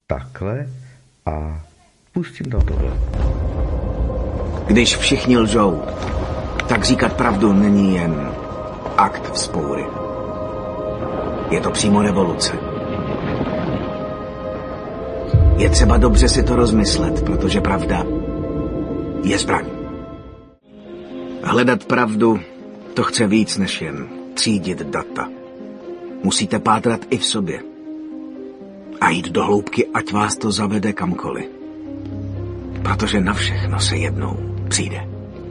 takhle a pustím tam tohle. Když všichni lžou, tak říkat pravdu není jen akt vzpoury. Je to přímo revoluce. Je třeba dobře si to rozmyslet, protože pravda je zbraň. Hledat pravdu, to chce víc než jen třídit data. Musíte pátrat i v sobě. A jít do hloubky, ať vás to zavede kamkoliv. Protože na všechno se jednou přijde.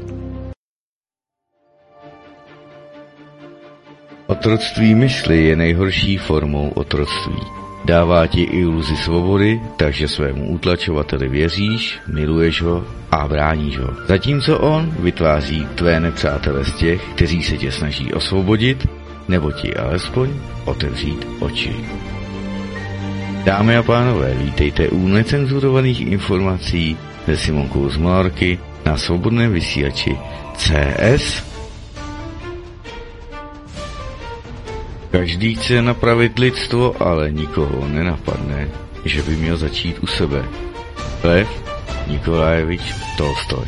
Otroctví mysli je nejhorší formou otroctví. Dává ti iluzi svobody, takže svému utlačovateli věříš, miluješ ho a bráníš ho. Zatímco on vytváří tvé nepřátele z těch, kteří se tě snaží osvobodit, nebo ti alespoň otevřít oči. Dámy a pánové, vítejte u necenzurovaných informací se Simonkou z Malarky na svobodném vysílači CS. Každý chce napravit lidstvo, ale nikoho nenapadne, že by měl začít u sebe. Lev Nikolajevič Tolstoj.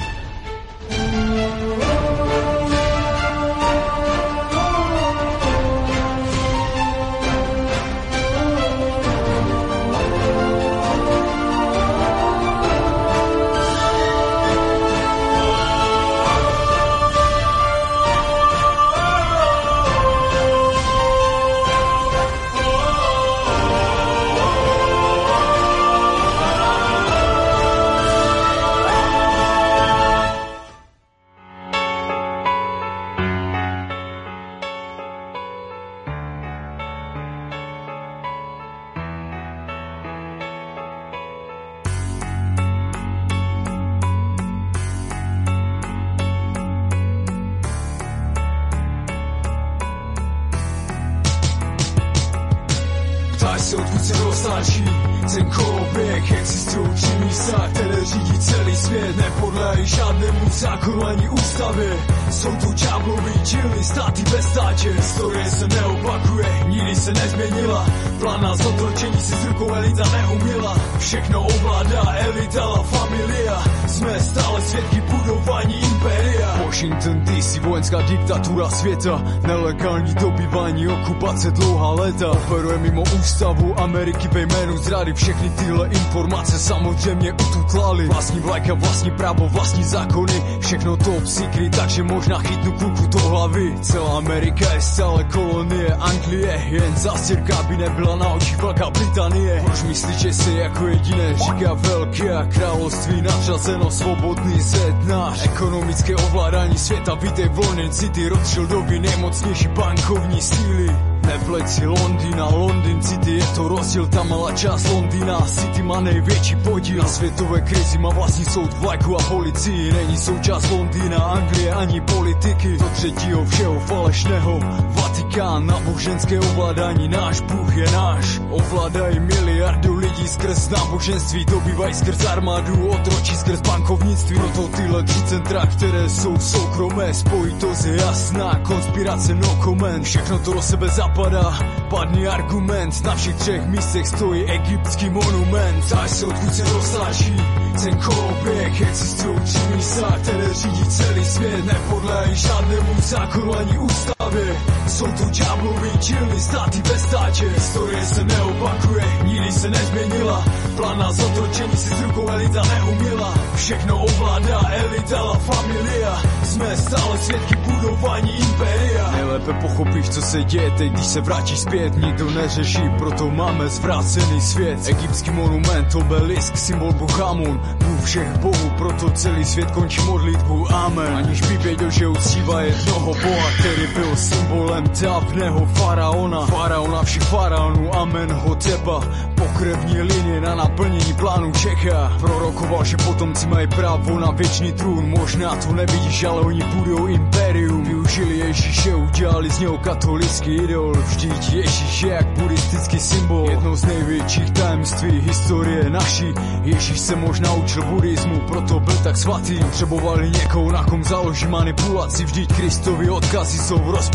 Se odkud se roztáčí ten koloběh, existují tři místa, které řídí celý svět. Nepodléhají žádnému zákonu ani ústavě. Jsou to ďábloví díly, státy bez státě. Historie se neopakuje, nikdy se nezměnila. Plán na zotročení si s rukou elita neuměla. Všechno ovládá elita, la familia. Jsme stále svědky budování impéria. Washington DC, vojenská diktatura světa. Nelegální dobývání, okupace dlouhá léta. Operuje mimo ústavu Ameriky ve jménu zrady. Všechny tyhle informace samozřejmě ututlali. Vlastní vlajka, vlastní právo, vlastní zákony. Všechno top secret, takže možná chytnu kluku do hlavy. Celá Amerika je stále kolonie Anglie. Jen zástěrka by nebyla na očích Velká Británie. Proč myslíš, že jsi jako jediné říká velké a království nadřazeno svobodný zet náš. Ekonomické ovládání světa, vítej volný city. Rothschildovi nejmocnější bankovní síly. Nepleť si Londýna, Londýn City, je to rozdíl, ta malá část Londýna. City má největší podíl na světové krizi, má vlastní soud, vlajku a policii. Není součást Londýna, Anglie ani politiky. Do třetího všeho falešného Vatikán, náboženské ovládání, náš Bůh je náš. Ovládají miliardu lidí skrz náboženství, dobývají skrz armádu, otročí skrz bankovnictví. Proto tyhle tři centra, které jsou soukromé, spojitost je jasná, konspirace no comment. Všechno to do sebe zapadá, padný argument. Na všech třech místech stojí egyptský monument. Ptáš se, odkud se roztáčí ten koloběh. Existují tři místa, které řídí celý svět. Nepodléhají žádnému zákonu ani ústavě. Jsou to ďábloví díly, státy bez státě. Historie se neopakuje, nikdy se nezměnila. Plán na zotročení si s rukou elita neuměla. Všechno ovládá elita, la familia. Jsme stále svědky budování impéria. Nejlépe pochopíš, co se děje teď, když se vrátíš zpět. Nikdo neřeší, proto máme zvrácený svět. Egyptský monument, obelisk, symbol Bohamon. Bůh všech bohů, proto celý svět končí modlitbu amen. Aniž by věděl, že uctívá jednoho boha, který byl symbolem dávného faraona. Faraona všech faraonů, amen, Hoteba. Pokrevní linie na naplnění plánu čeká. Prorokoval, že potomci mají právo na věčný trůn. Možná to nevidíš, ale oni budou impérium. Využili Ježíše, udělali z něho katolický idol. Vždyť Ježíš je jak buddhistický symbol. Jedno z největších tajemství historie naší. Ježíš se možná učil buddhismu, proto byl tak svatý. Potřebovali někoho, na kom založí manipulaci. Vždyť Kristovi odkazy jsou v rozporu s celou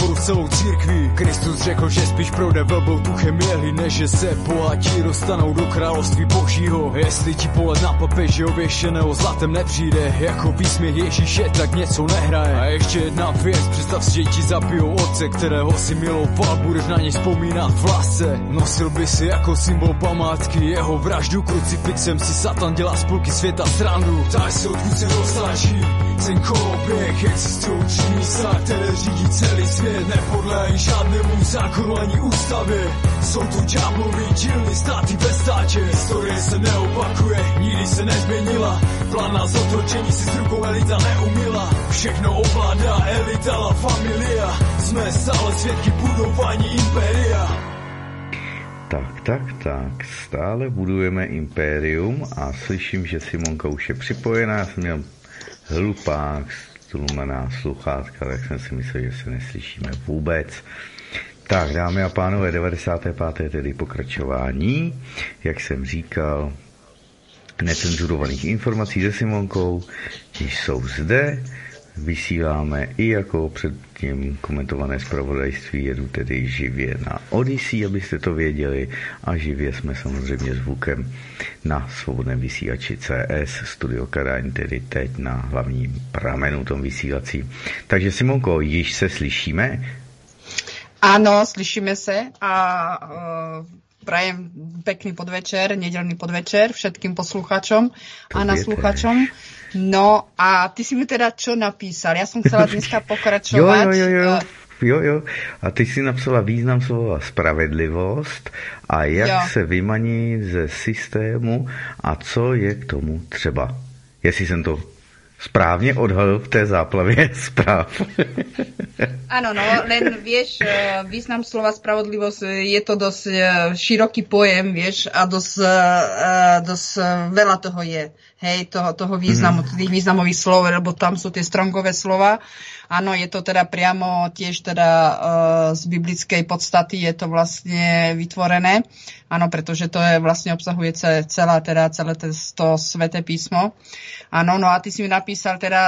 církví. Kristus řekl, že spíš projde velbou tu chemieli, než že se bohatí dostanou do království božího. Jestli ti pohled na papeže ověšeného zlatem nepřijde jako výsměch Ježíše, tak něco nehraje. A ještě jedna věc, představ si, že ti zabijou otce, kterého si miloval, budeš na něj vzpomínat v lásce. Nosil by si jako symbol památky jeho vraždu, krucifixem si Satan dělá z půlky světa srandu. Ptáš se, odkud se roztáčí ten koloběh, existují tři místa, které řídí celý svět, nepodléhají žádnému zákonu ani ústavě. Jsou to ďáblovi dílny, státy bez stáče, historie se neopakuje, nikdy se nezměnila, plán na zotročení si s rukou elita neumila, všechno ovládá elita, la familia, jsme stále svědky budování impéria. Tak, stále budujeme impérium a slyším, že Simonka už je připojená, já jsem měl hlupák, stlumená sluchátka, tak jsem si myslel, že se neslyšíme vůbec. Tak, dámy a pánové, 95. tedy pokračování, jak jsem říkal, necenzurovaných informací se Simonkou, již jsou zde, vysíláme i jako předtím komentované zpravodajství, jedu tedy živě na Odyssey, abyste to věděli, a živě jsme samozřejmě zvukem na svobodném vysílači CS, Studio Kadaň, tedy teď na hlavním pramenu tom vysílací. Takže Simonko, již se slyšíme? Áno, slyšíme sa a prajem pekný podvečer, nedeľný podvečer všetkým poslucháčom a naslúchačom. No a ty si mi teda čo napísal? Ja som chcela dneska pokračovať. Jo. A ty si napsala význam slova spravedlivost a jak se vymaní ze systému a co je k tomu třeba. Jestli jsem to správne odhalil v tej záplavie správ. Áno, no, len vieš, význam slova spravodlivosť je to dosť široký pojem, vieš, a dosť veľa toho je. Hej, toho významu, tých významových slov, lebo tam sú tie strongové slova. Áno, je to teda priamo tiež teda z biblickej podstaty je to vlastne vytvorené. Áno, pretože to je vlastne obsahuje celé to sväté písmo. Áno, no a ty si mi napísal teda,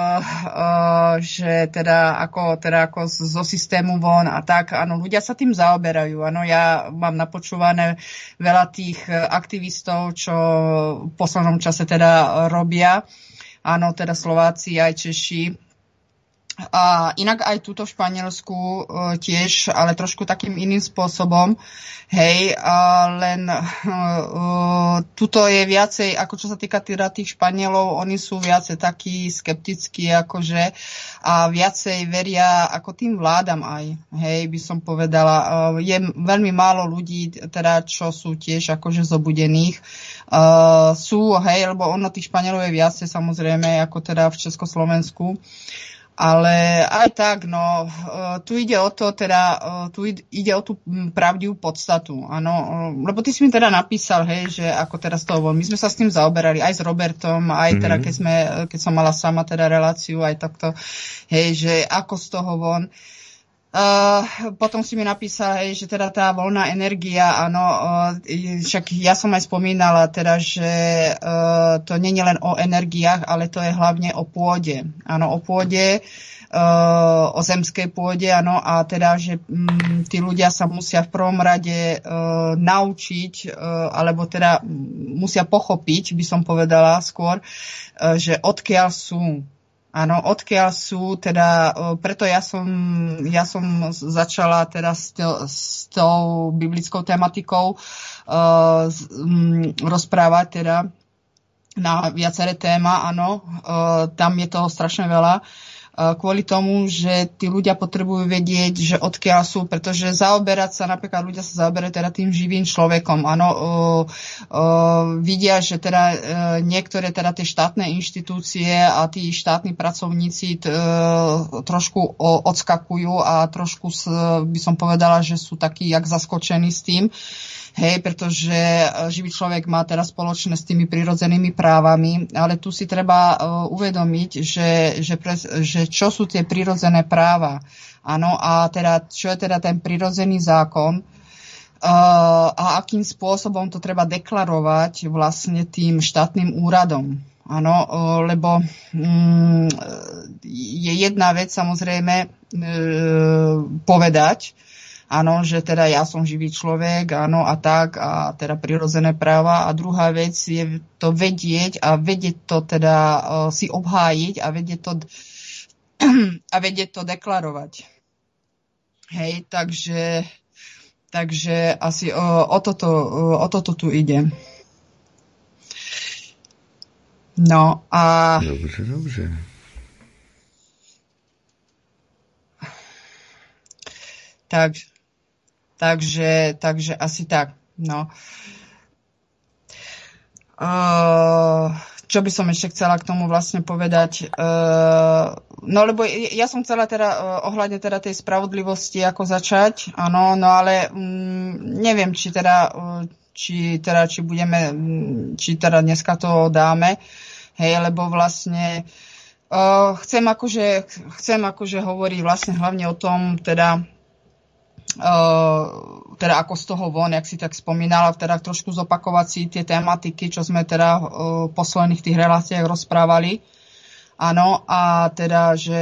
že teda ako zo systému von a tak, áno, ľudia sa tým zaoberajú. Áno, ja mám napočúvané veľa tých aktivistov, čo v poslednom čase teda robia. Áno, teda Slováci aj Češi. A inak aj túto v Španielsku tiež, ale trošku takým iným spôsobom. Hej, len tuto je viacej, ako čo sa týka tých Španielov, oni sú viacej takí skeptickí, akože, a viacej veria ako tým vládam aj. Hej, by som povedala. Je veľmi málo ľudí, teda, čo sú tiež akože zobudených. Sú, hej, lebo ono tých Španielov je viacej, samozrejme, ako teda v Československu. Ale aj tak, no, tu ide o to, teda, tu ide o tú pravdivú podstatu, áno, lebo ty si mi teda napísal, hej, že ako teraz to bolo, my sme sa s tým zaoberali, aj s Robertom, aj teda, keď som mala sama teda reláciu, aj takto, hej, že ako z toho von. Potom si mi napísal, hej, že teda tá voľná energia, áno, však ja som aj spomínala teda, že to nie je len o energiách, ale to je hlavne o pôde. Áno, o pôde, o zemskej pôde, áno, a teda, že tí ľudia sa musia v prvom rade naučiť, alebo teda musia pochopiť, by som povedala skôr, že odkiaľ sú. Áno, odkiaľ sú, teda, preto ja som začala teda s tou biblickou tematikou rozprávať teda na viaceré téma, áno, tam je toho strašne veľa. Kvôli tomu, že tí ľudia potrebujú vedieť, že odkiaľ sú, pretože zaoberať sa, napríklad ľudia sa zaoberajú teda tým živým človekom, áno, vidia, že teda niektoré teda tie štátne inštitúcie a tí štátni pracovníci trošku odskakujú a trošku by som povedala, že sú takí jak zaskočení s tým. Hej, pretože živý človek má teraz spoločné s tými prirodzenými právami, ale tu si treba uvedomiť, že čo sú tie prirodzené práva. Áno, a teda, čo je teda ten prirodzený zákon a akým spôsobom to treba deklarovať vlastne tým štátnym úradom. Áno, lebo je jedna vec samozrejme povedať, áno, že teda ja som živý človek, áno, a tak, a teda prirodzené práva. A druhá vec je to vedieť a vedieť to teda si obhájiť a vedieť to deklarovať. Hej, takže asi o toto tu ide. No a... Dobře. Takže asi tak. No. Čo by som ešte chcela k tomu vlastne povedať? No lebo ja som chcela teda ohľadne teda tej spravodlivosti ako začať, áno, no ale neviem, či dneska to dáme, hej, lebo vlastne chcem akože hovoriť vlastne hlavne o tom teda ako z toho von, jak si tak spomínala, teda trošku zopakovať si tie tematiky, čo sme teda v posledných tých reláciách rozprávali. Áno, a teda, že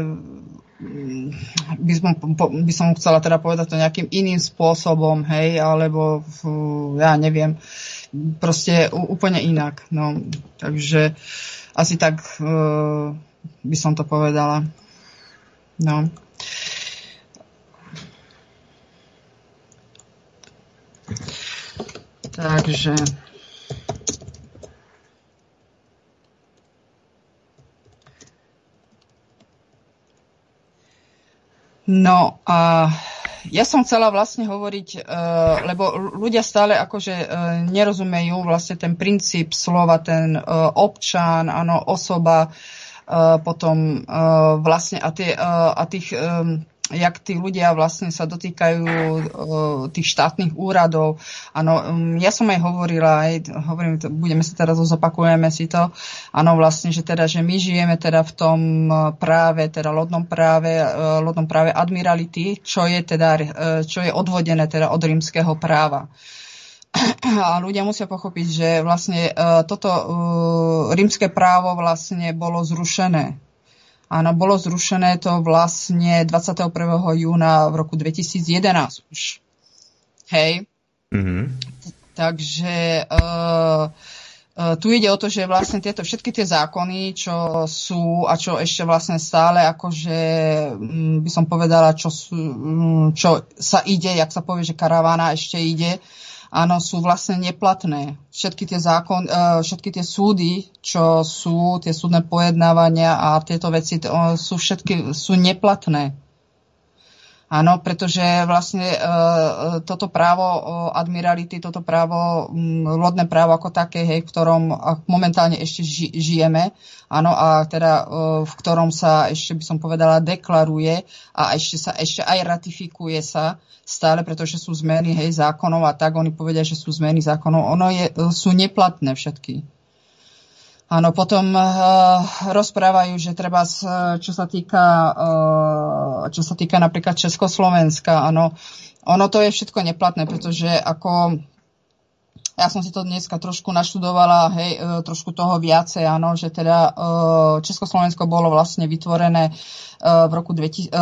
by som chcela teda povedať to nejakým iným spôsobom, hej, alebo ja neviem, proste úplne inak. No, takže asi tak by som to povedala. No. Takže no a ja som chcela vlastne hovoriť, lebo ľudia stále akože nerozumejú vlastne ten princíp slova, ten občan, áno, osoba, potom vlastne a tých jak tí ľudia vlastne sa dotýkajú tých štátnych úradov. Áno, ja som aj hovorila, budeme sa teraz zopakujeme si to, áno, vlastne, že teda, že my žijeme teda v tom práve, teda lodnom práve admirality, čo je odvodené teda od rímskeho práva. A ľudia musia pochopiť, že vlastne toto rímske právo vlastne bolo zrušené. Áno, bolo zrušené to vlastne 21. júna v roku 2011 už. Hej. Mm-hmm. Takže tu ide o to, že vlastne všetky tie zákony, čo sú a čo ešte vlastne stále akože by som povedala, čo sa ide, jak sa povie, že karavána ešte ide, áno, sú vlastne neplatné. Všetky tie súdy, čo sú, tie súdne pojednávania a tieto veci sú neplatné. Áno, pretože vlastne toto právo admirality, toto právo, lodné právo ako také, hej, v ktorom momentálne ešte žijeme, áno, a teda v ktorom sa ešte by som povedala deklaruje a ešte aj ratifikuje sa stále, pretože sú zmeny, hej, zákonov a tak oni povedia, že sú zmeny zákonov, sú neplatné všetky. Áno, potom rozprávajú, že treba, čo sa týka napríklad Československa, áno, ono to je všetko neplatné, pretože ako ja som si to dneska trošku naštudovala, hej, trošku toho viacej, áno, že teda Československo bolo vlastne vytvorené v roku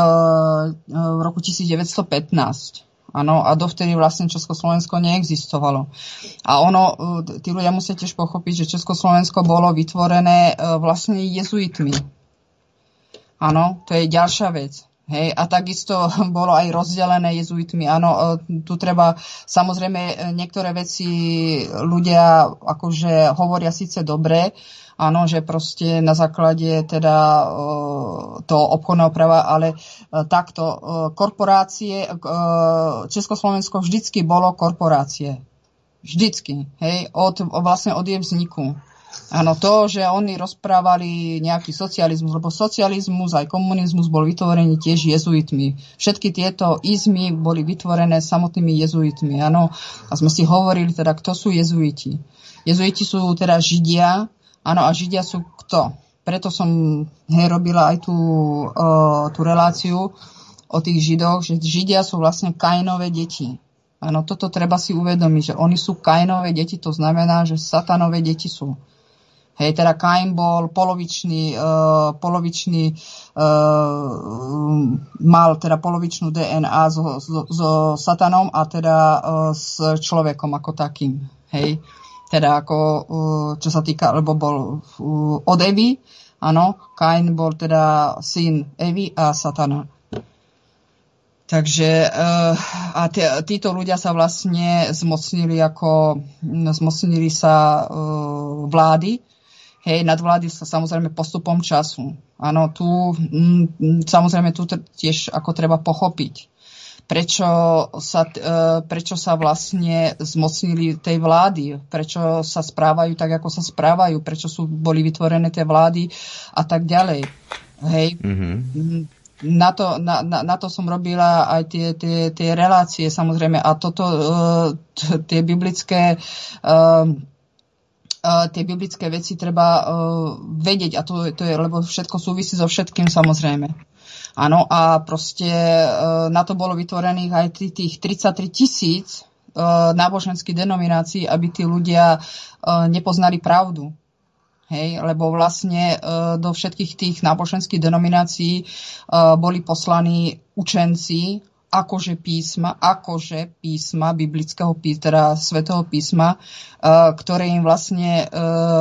1915. Áno, a dovtedy vlastne Československo neexistovalo. A tí ľudia musia tiež pochopiť, že Československo bolo vytvorené vlastne jezuitmi. Áno, to je ďalšia vec. Hej, a takisto bolo aj rozdelené jezuitmi. Áno, tu treba, samozrejme, niektoré veci ľudia akože hovoria síce dobre, áno, že proste na základe teda toho obchodného práva, ale takto korporácie, Československo vždycky bolo korporácie. Vždycky, hej, vlastne od jej vzniku. Áno, to, že oni rozprávali nejaký socializmus, lebo socializmus aj komunizmus bol vytvorený tiež jezuitmi. Všetky tieto izmy boli vytvorené samotnými jezuitmi, áno. A sme si hovorili teda, kto sú jezuiti. Jezuiti sú teda Židia, áno, a Židia sú kto? Preto som robila aj tú reláciu o tých Židoch, že Židia sú vlastne Kainové deti. Áno, toto treba si uvedomiť, že oni sú Kainové deti, to znamená, že satanové deti sú. Hej, teda Kain bol polovičný mal teda polovičnú DNA so satanom a teda s človekom ako takým. Hej, teda ako, čo sa týka, lebo bol od Evy, áno, Kain bol teda syn Evy a satana. Takže a títo ľudia sa vlastne zmocnili sa vlády. Hej, nadvlády sa samozrejme postupom času. Áno, samozrejme tu tiež ako treba pochopiť, prečo sa vlastne zmocnili tej vlády, prečo sa správajú tak, ako sa správajú, prečo boli vytvorené tie vlády a tak ďalej. Hej. Mm-hmm. Na to som robila aj tie relácie, samozrejme, a toto tie biblické veci treba vedieť, a to je, lebo všetko súvisí so všetkým, samozrejme. Áno, a proste na to bolo vytvorených aj tých 33 000 náboženských denominácií, aby tí ľudia nepoznali pravdu. Hej, lebo vlastne do všetkých tých náboženských denominácií boli poslaní učenci akože písma biblického teda svätého písma, ktoré im vlastne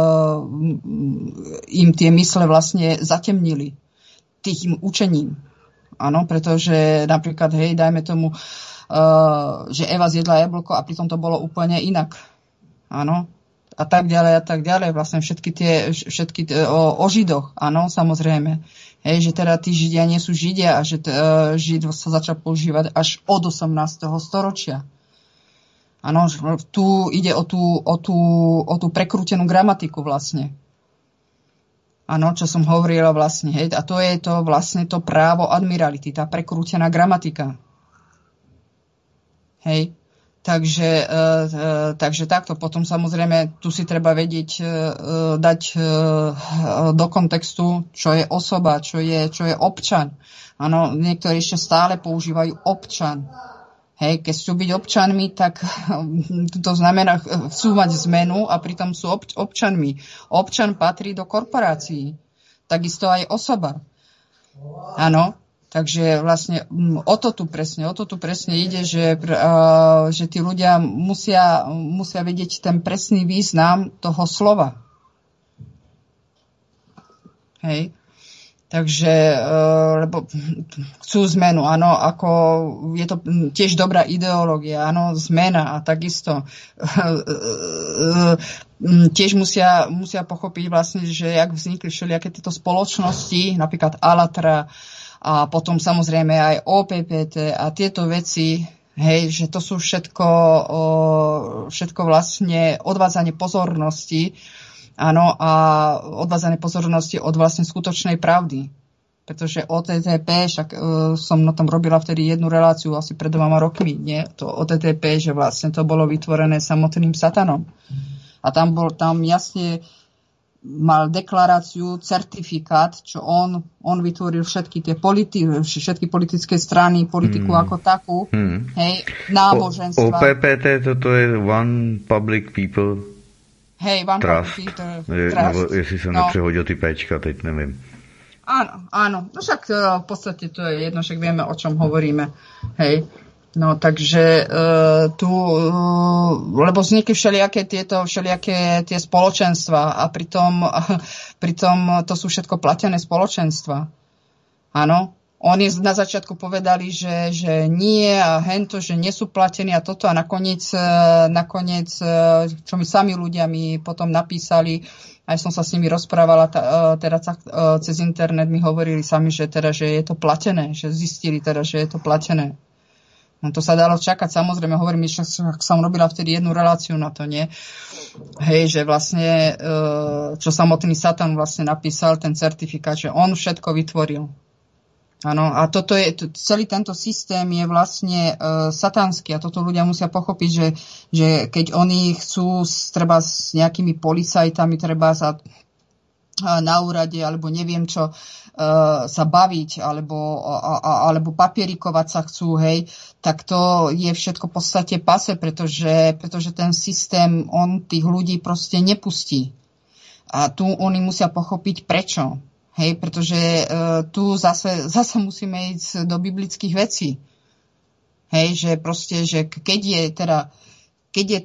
im tie mysle vlastne zatemnili tým učením. Áno, pretože napríklad, hej, dajme tomu, že Eva zjedla jablko a pritom to bolo úplne inak. Áno. A tak ďalej, vlastne všetky o Židoch, áno, samozrejme. Hej, že teda tí Židia nie sú Židia a že Žid sa začal používať až od 18. storočia. Áno, tu ide o tú prekrútenú gramatiku vlastne. Áno, čo som hovorila vlastne, hej, a to je to vlastne to právo admirality, tá prekrútená gramatika. Hej. Takže takto. Potom samozrejme tu si treba vedieť dať do kontextu, čo je osoba, čo je občan. Áno, niektorí ešte stále používajú občan. Hej, keď chcú byť občanmi, tak to znamená, chcú mať zmenu a pritom sú občanmi. Občan patrí do korporácií. Takisto aj osoba. Áno. Takže vlastne o to tu presne ide, že tí ľudia musia vedieť ten presný význam toho slova. Hej. Takže, lebo chcú zmenu, áno, ako je to tiež dobrá ideológia, áno, zmena a takisto tiež musia pochopiť vlastne, že jak vznikli všelijaké tieto spoločnosti, napríklad Alatra, a potom samozrejme aj OPPT a tieto veci, hej, že to sú všetko vlastne odvádzanie pozornosti, áno, a odvádzanie pozornosti od vlastne skutočnej pravdy. Pretože OTTP, však som na tom robila vtedy jednu reláciu asi pred 2 rokmi, nie? To OTTP, že vlastne to bolo vytvorené samotným satanom. A tam jasne mal deklaráciu, certifikát, čo on vytvoril všetky politické strany, politiku ako takú, hej, náboženstva. OPPT, toto je One Public People Trust. Nebo jestli som nepřehodil ty péčka, teď neviem. Áno. No však v podstate to je jedno, však vieme, o čom hovoríme. Hej. No takže lebo vznikli všelijaké tie spoločenstva a pritom to sú všetko platené spoločenstva. Áno, oni na začiatku povedali, že nie a hento, že nie sú platení a toto a nakoniec čo mi sami ľudia mi potom napísali, aj som sa s nimi rozprávala teda cez internet, mi hovorili sami, že je to platené, že zistili teda, že je to platené. No to sa dalo čakať, samozrejme, hovorím, že som robila vtedy jednu reláciu na to, nie? Hej, že vlastne, čo samotný Satan vlastne napísal, ten certifikát, že on všetko vytvoril. Áno, a celý tento systém je vlastne satanský a toto ľudia musia pochopiť, že keď oni chcú treba s nejakými policajtami, treba sa na úrade, alebo neviem čo, sa baviť, alebo papierikovať sa chcú, hej, tak to je všetko v podstate pase, pretože ten systém, on tých ľudí proste nepustí. A tu oni musia pochopiť prečo. Hej, pretože tu zase musíme ísť do biblických vecí. Hej, že proste, že keď je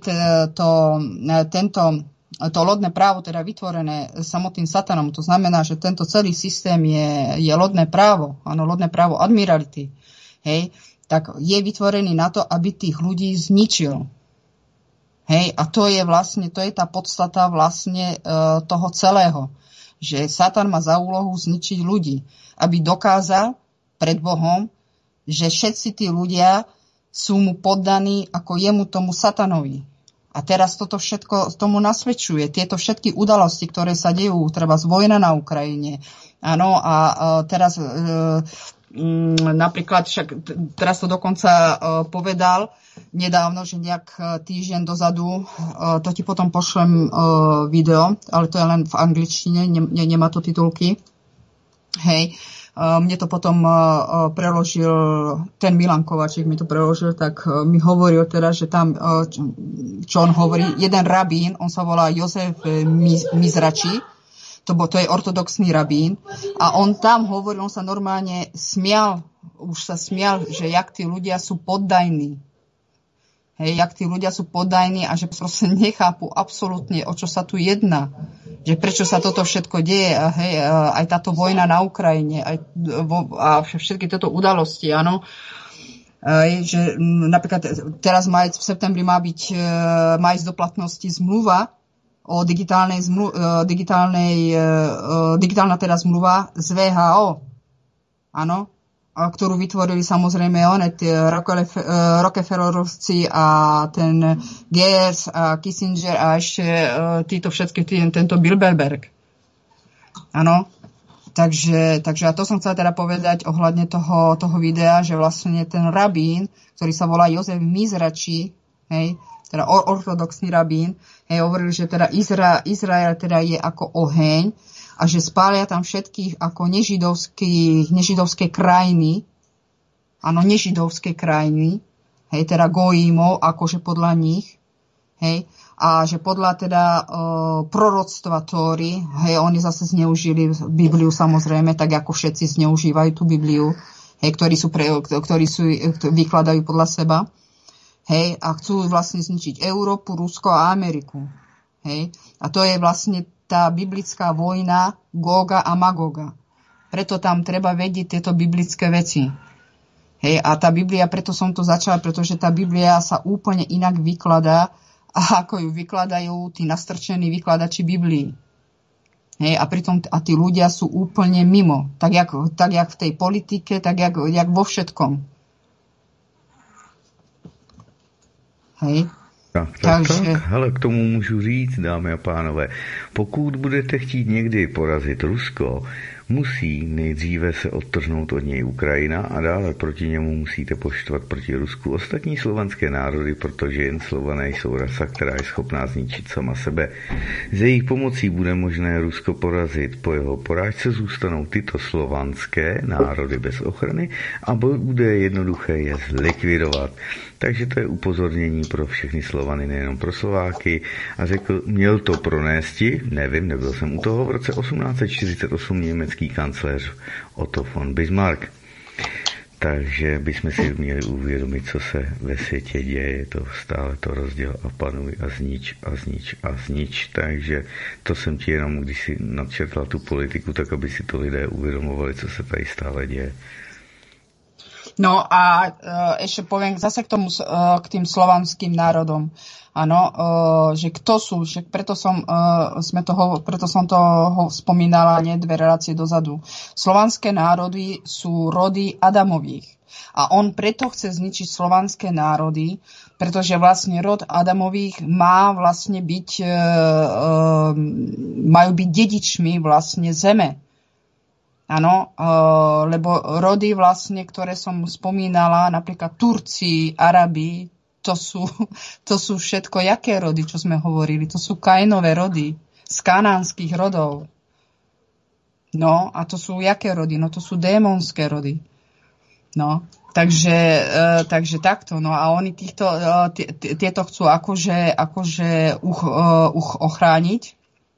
to lodné právo teda vytvorené samotným satanom, to znamená, že tento celý systém je lodné právo, áno, lodné právo admirality, hej, tak je vytvorený na to, aby tých ľudí zničil. Hej, a to je tá podstata vlastne toho celého. Že Satan má za úlohu zničiť ľudí, aby dokázal pred Bohom, že všetci tí ľudia sú mu poddaní ako jemu, tomu Satanovi. A teraz toto všetko tomu nasvedčuje. Tieto všetky udalosti, ktoré sa dejú, treba vojna na Ukrajine. Áno, a teraz napríklad, teraz to dokonca povedal nedávno, že nejak týždeň dozadu, to ti potom pošlem video, ale to je len v angličtine, nemá to titulky. Hej, mne to potom preložil, ten Milan Kovačík mi to preložil, tak mi hovoril teda, že tam, čo on hovorí, jeden rabín, on sa volá Jozef Mizrači, to je ortodoxný rabín, a on tam hovoril, on sa normálne smial, že jak tí ľudia sú poddajní. Hej, jak tí ľudia sú poddajní a že proste nechápu absolútne, o čo sa tu jedná. Že prečo sa toto všetko deje, hej, aj táto vojna na Ukrajine, a všetky tieto udalosti, áno. Že napríklad teraz v septembri má ísť do platnosti zmluva o digitálna teda zmluva z VHO. Áno. Ktorú vytvorili samozrejme Rockefellerovci a ten Geers a Kissinger a ešte tento Bilderberg. Áno. Takže a to som chcela teda povedať ohľadne toho videa, že vlastne ten rabín, ktorý sa volá Jozef Mizrači, hej, teda ortodoxný rabín, hej, hovoril, že teda Izrael teda je ako oheň, a že spália tam všetkých ako nežidovské krajiny, áno, nežidovské krajiny, hej, teda gojímov, akože podľa nich, hej, a že podľa teda proroctva Tóry, hej, oni zase zneužili Bibliu samozrejme, tak ako všetci zneužívajú tú Bibliu, hej, ktorí vykladajú podľa seba, hej, a chcú vlastne zničiť Európu, Rusko a Ameriku, hej, a to je vlastne tá biblická vojna Góga a Magóga. Preto tam treba vedieť tieto biblické veci. Hej, a tá Biblia, preto som to začala, pretože tá Biblia sa úplne inak vykladá, ako ju vykladajú tí nastrčení vykladači Biblii. Hej, a pritom tí ľudia sú úplne mimo. Tak jak v tej politike, tak jak vo všetkom. Hej. Tak, hele, k tomu můžu říct, dámy a pánové, pokud budete chtít někdy porazit Rusko, musí nejdříve se odtrhnout od něj Ukrajina a dále proti němu musíte poštvat proti Rusku ostatní slovanské národy, protože jen Slované jsou rasa, která je schopná zničit sama sebe. Z jejich pomocí bude možné Rusko porazit. Po jeho porážce zůstanou tyto slovanské národy bez ochrany a bude jednoduché je zlikvidovat. Takže to je upozornění pro všechny Slovany, nejenom pro Slováky. A měl to pronésti, nevím, nebyl jsem u toho, v roce 1848 německý kancléř Otto von Bismarck. Takže bychom si měli uvědomit, co se ve světě děje. Je to stále to rozděl a panuj a znič a znič a znič. Takže to jsem ti jenom, když si nadčetla tu politiku, tak aby si to lidé uvědomovali, co se tady stále děje. No a ešte poviem zase k tým slovanským národom. Áno, že kto sú, že preto som to spomínala nie 2 relácie dozadu. Slovanské národy sú rody Adamových. A on preto chce zničiť slovanské národy, pretože vlastne rod Adamových má vlastne majú byť dedičmi vlastne zeme. Áno, lebo rody vlastne, ktoré som spomínala, napríklad Turci, Arabi, to sú všetko jaké rody, čo sme hovorili? To sú Kainové rody, z kanánskych rodov. No, a to sú jaké rody? No, to sú démonské rody. No, takže takto. No a oni tieto chcú akože ochrániť.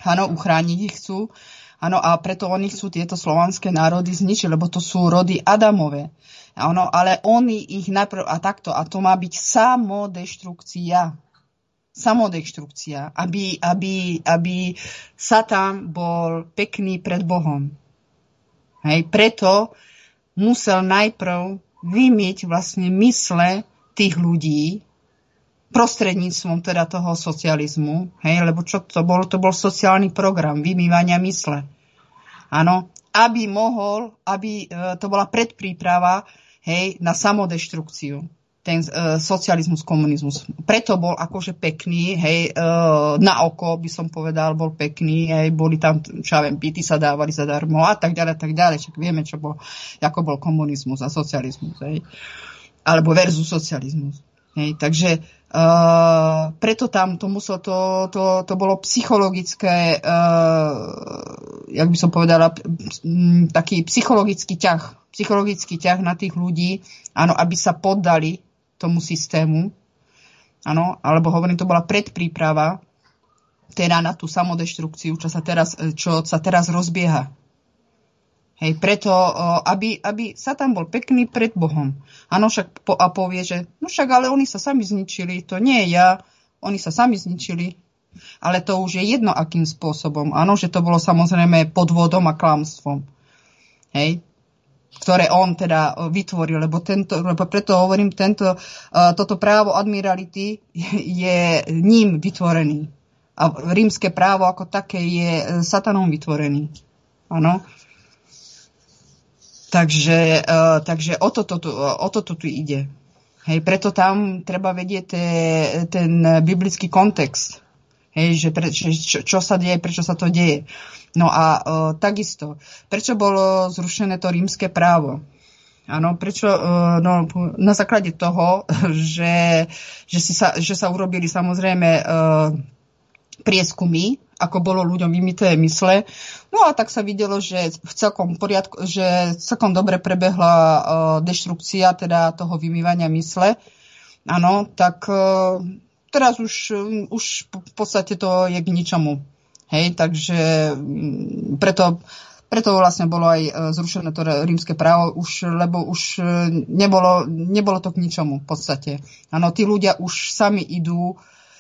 Áno, uchrániť ich chcú. Áno, a preto oni chcú tieto slovanské národy zničiť, lebo to sú rody Adamové. Áno, ale oni ich najprv, a takto, a to má byť samodeštrukcia. Samodeštrukcia, aby Satan bol pekný pred Bohom. Hej, preto musel najprv vymyť vlastne mysle tých ľudí, prostredníctvom teda toho socializmu, hej, lebo čo to bol? To bol sociálny program vymývania mysle. Áno, aby to bola predpríprava, hej, na samodeštrukciu, ten socializmus, komunizmus. Preto bol akože pekný, hej, na oko by som povedal, bol pekný, hej, boli tam, čo ja viem, byty sa dávali zadarmo a tak ďalej, však vieme, ako bol komunizmus a socializmus, hej, alebo versus socializmus. Hej, takže preto tam to bolo psychologické, jak by som povedala, taký psychologický ťah na tých ľudí, áno, aby sa poddali tomu systému, áno, alebo hovorím, to bola predpríprava teda na tú samodeštrukciu, čo sa teraz rozbieha. Hej, preto, aby Satan bol pekný pred Bohom. Áno, však povie, že no však, ale oni sa sami zničili, to nie ja, oni sa sami zničili. Ale to už je jedno, akým spôsobom. Áno, že to bolo samozrejme podvodom a klamstvom. Hej, ktoré on teda vytvoril, lebo preto hovorím, toto právo admirality je ním vytvorený. A rímske právo ako také je Satanom vytvorený. Áno. Takže o toto tu ide. Hej, preto tam treba vedieť ten biblický kontext. Hej, že čo sa deje, prečo sa to deje. No a takisto, prečo bolo zrušené to rímske právo? Áno, prečo? No, na základe toho, že sa urobili samozrejme prieskumy, ako bolo ľuďom vymyté mysle. No a tak sa videlo, že v celkom poriadku, že celkom dobre prebehla deštrukcia teda toho vymývania mysle. Áno, tak teraz už v podstate to je k ničomu. Hej, takže preto vlastne bolo aj zrušené to rímske právo, lebo už nebolo to k ničomu v podstate. Áno, tí ľudia už sami idú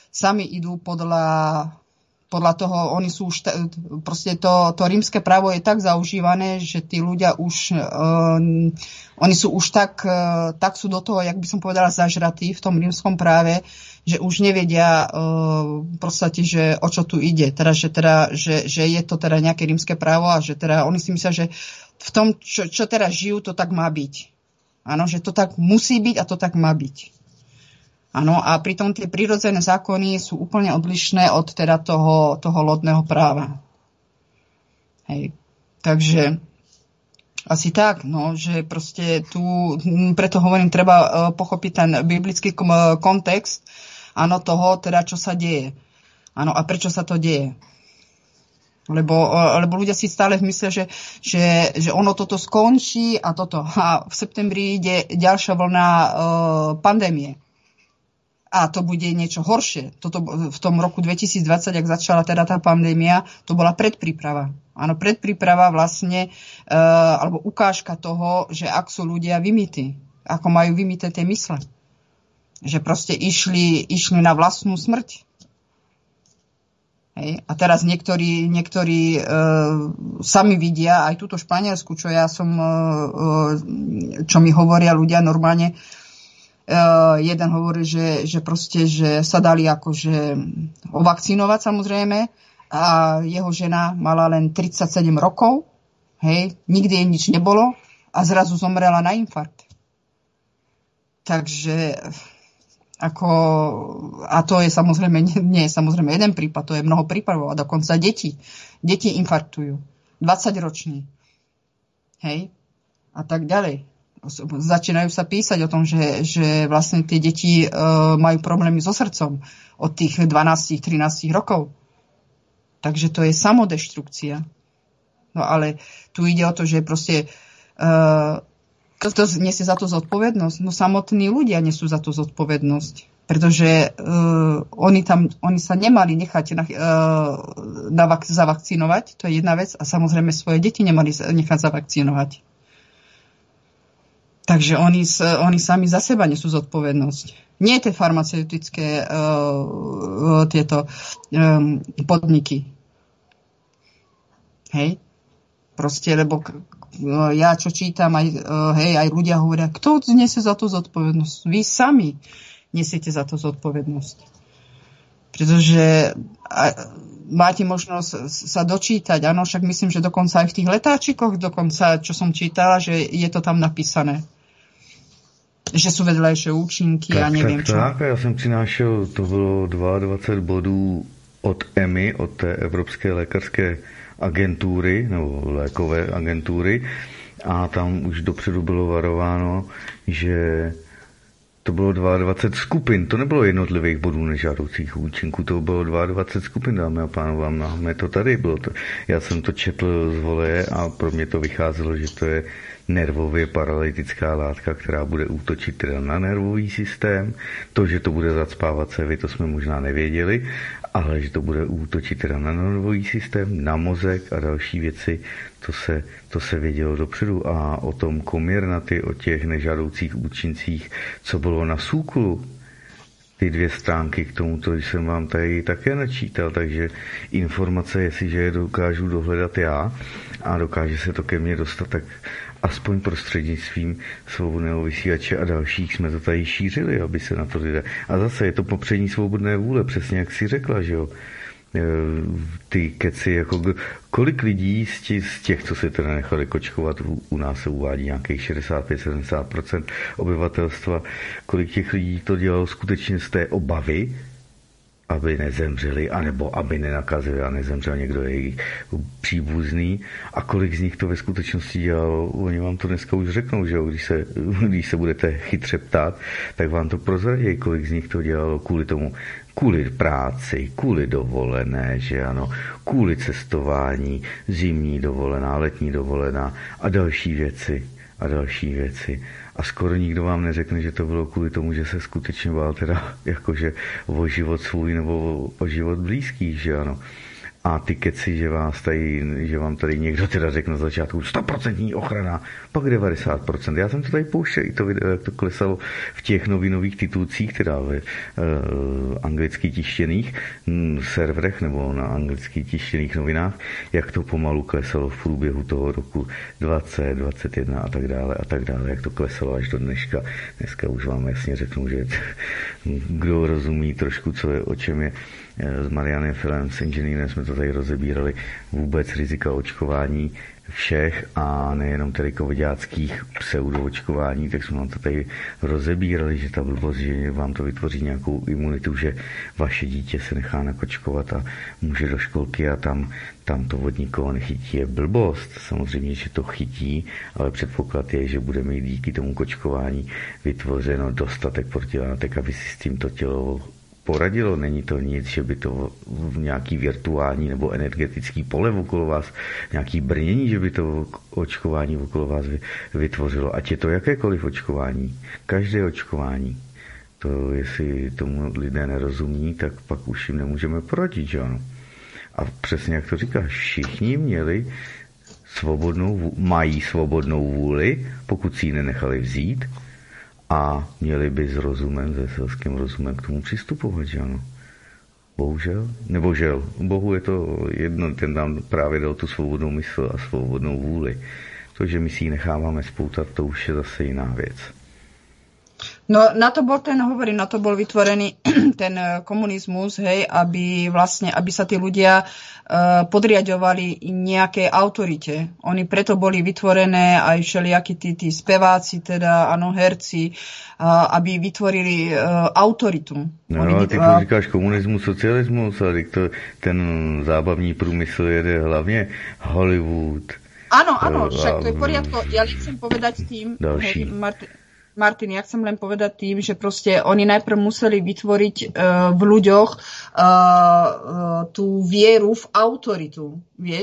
podľa toho, oni sú už, proste to rímske právo je tak zaužívané, že tí ľudia už, oni sú už tak sú do toho, jak by som povedala, zažratí v tom rímskom práve, že už nevedia v podstate, že o čo tu ide. Že je to teda nejaké rímske právo a že teda oni si myslia, že v tom, čo teraz žijú, to tak má byť. Áno, že to tak musí byť a to tak má byť. Áno, a pritom tie prirodzené zákony sú úplne odlišné od teda toho lodného práva. Hej. Takže asi tak, no, že proste tu, preto hovorím, treba pochopiť ten biblický kontext, áno, toho, teda čo sa deje. Áno, a prečo sa to deje. Lebo ľudia si stále myslia, že ono toto skončí a toto. A v septembri ide ďalšia vlna pandémie. A to bude niečo horšie. Toto v tom roku 2020, ak začala teda tá pandémia, to bola predpríprava. Áno, predpríprava vlastne, alebo ukážka toho, že ak sú ľudia vymytí, ako majú vymyté tie mysle. Že proste išli na vlastnú smrť. Hej. A teraz niektorí sami vidia, aj túto Španielsku, čo mi hovoria ľudia normálne, jeden hovorí, že proste, že sa dali akože ovakcinovať samozrejme a jeho žena mala len 37 rokov, hej, nikdy jej nič nebolo a zrazu zomrela na infarkt. Takže a to je samozrejme, nie je samozrejme jeden prípad, to je mnoho prípadov a dokonca deti infarktujú, 20-roční, hej, a tak ďalej. Začínajú sa písať o tom, že vlastne tie deti majú problémy so srdcom od tých 12-13 rokov. Takže to je samodeštrukcia. No ale tu ide o to, že proste kto nesie za to zodpovednosť? No samotní ľudia nesú za to zodpovednosť. Pretože oni sa nemali nechať zavakcinovať, to je jedna vec, a samozrejme svoje deti nemali nechať zavakcinovať. Takže oni sami za seba nesú zodpovednosť. Nie tie farmaceutické tieto podniky. Hej? Proste, lebo ja čo čítam, aj ľudia hovoria, kto nesie za to zodpovednosť? Vy sami nesiete za to zodpovednosť. Pretože máte možnosť sa dočítať, áno, však myslím, že dokonca aj v tých letáčikoch, dokonca, čo som čítala, že je to tam napísané. Že sú vedľajšie účinky a neviem čo. Tak, já jsem přinášel, to bylo 22 bodů od EMI, od té Evropské lékařské agentury, nebo lékové agentury, a tam už dopředu bylo varováno, že to bylo 22 skupin, to nebylo jednotlivých bodů nežádoucích účinků, to bylo 22 skupin, dámy a pánové, máme to tady, bylo to. Já jsem to četl z voleje a pro mě to vycházelo, že to je nervově paralytická látka, která bude útočit teda na nervový systém. To, že to bude zacpávat cévy, to jsme možná nevěděli, ale že to bude útočit teda na nervový systém, na mozek a další věci, to se vědělo dopředu. A o tom Comirnaty, o těch nežádoucích účincích, co bylo na SÚKLu, ty 2 stránky k tomuto jsem vám tady také načítal, takže informace, jestliže je dokážu dohledat já a dokáže se to ke mně dostat, tak aspoň prostřednictvím Svobodného vysílače a dalších jsme to tady šířili, aby se na to lidé. A zase je to popření svobodné vůle, přesně jak jsi řekla, že jo. Ty keci, jako kolik lidí z těch, co se teda nechali kočkovat, u nás se uvádí nějakých 65-70% obyvatelstva, kolik těch lidí to dělalo skutečně z té obavy, aby nezemřeli, anebo aby nenakazili a nezemřel někdo jejich příbuzný, a kolik z nich to ve skutečnosti dělalo, oni vám to dneska už řeknou, že jo, když se budete chytře ptát, tak vám to prozradí, kolik z nich to dělalo kvůli tomu, kvůli práci, kvůli dovolené, že ano, kvůli cestování, zimní dovolená, letní dovolená a další věci. A skoro nikdo vám neřekne, že to bylo kvůli tomu, že se skutečně bál teda jakože o život svůj nebo o život blízký, že ano. A ty keci, že vám tady někdo teda řekne na začátku 100% ochrana, pak 90%. Já jsem to tady pouštěl, i to video, jak to klesalo v těch novinových titulcích, teda ve anglicky tištěných serverech nebo na anglicky tištěných novinách, jak to pomalu klesalo v průběhu toho roku 20, 21 a tak dále, jak to klesalo až do dneška. Dneska už vám jasně řeknu, že kdo rozumí trošku, co je, o čem je, s Marianem Filem, s inženýrem jsme to tady rozebírali, vůbec rizika očkování všech a nejenom tedy covidáckých pseudoočkování, tak jsme vám to tady rozebírali, že ta blbost, že vám to vytvoří nějakou imunitu, že vaše dítě se nechá nakočkovat a může do školky a tam to od nikoho nechytí, je blbost. Samozřejmě, že to chytí, ale předpoklad je, že bude mít díky tomu kočkování vytvořeno dostatek protilátek, aby si s tímto tělo poradilo. Není to nic, že by to nějaký virtuální nebo energetický pole okolo vás, nějaký brnění, že by to očkování okolo vás vytvořilo. Ať je to jakékoliv očkování, každé očkování. To, jestli tomu lidé nerozumí, tak pak už jim nemůžeme poradit, že ano. A přesně jak to říkáš, všichni mají svobodnou vůli, pokud si ji nenechali vzít, a měli by s rozumem, se selským rozumem k tomu přistupovat, že ano. Bohužel, nebo žel. Bohu je to jedno, ten nám právě dal tu svobodnou mysl a svobodnou vůli. To, že my si ji necháváme spoutat, to už je zase jiná věc. No na to bol vytvorený ten komunizmus, hej, aby sa tí ľudia podriadovali nejakej autorite. Oni preto boli vytvorené aj všelijakí tí speváci, teda áno, herci, aby vytvorili autoritu. No ale ty říkáš komunismus, socialismus, ale ten zábavní průmysl jede hlavně Hollywood. Áno, však to je v poriadku. Ja chcem povedať tým, hej, Martin, ja chcem len povedať tým, že proste oni najprv museli vytvoriť v ľuďoch tú vieru v autoritu, vieš?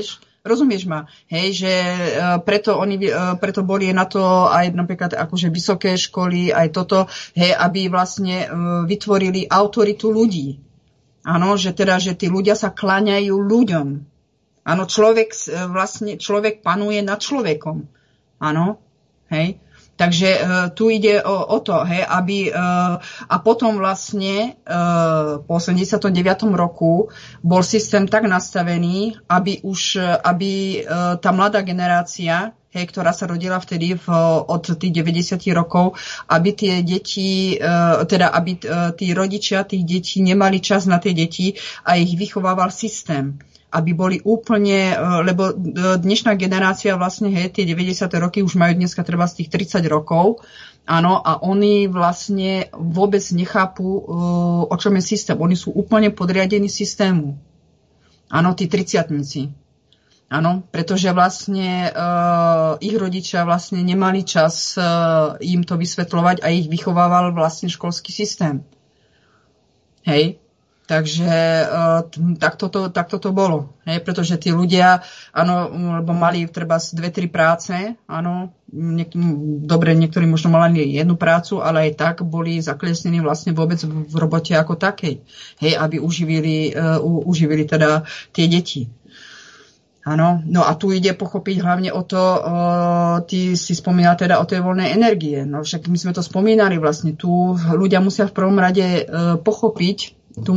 Rozumieš ma? Hej, že preto boli na to aj napríklad akože vysoké školy, aj toto, hej, aby vlastne vytvorili autoritu ľudí. Áno, že tí ľudia sa kláňajú ľuďom. Áno, človek panuje nad človekom. Áno, hej. Takže tu ide o to, hej, aby a potom vlastne po 89. roku bol systém tak nastavený, aby tá mladá generácia, hej, ktorá sa rodila vtedy od tých 90 rokov, aby tie deti, aby tí rodičia tých detí nemali čas na tie deti a ich vychovával systém. Aby boli úplne, lebo dnešná generácia vlastne, hej, tie 90. roky už majú dneska treba z tých 30 rokov, áno, a oni vlastne vôbec nechápu, o čom je systém. Oni sú úplne podriadení systému. Áno, tí 30-tníci. Áno, pretože vlastne ich rodičia vlastne nemali čas im to vysvetľovať a ich vychovával vlastne školský systém. Hej. Takže takto to bolo. Hej, pretože tí ľudia, áno, lebo mali treba 2-3 práce, áno, niektorí možno mali jednu prácu, ale aj tak boli zaklesnení vlastne vôbec v robote ako takej. Hej, aby uživili teda tie deti. Áno, no a tu ide pochopiť hlavne o to, ty si spomínal teda o tej voľnej energie. No však my sme to spomínali vlastne. Tu ľudia musia v prvom rade pochopiť,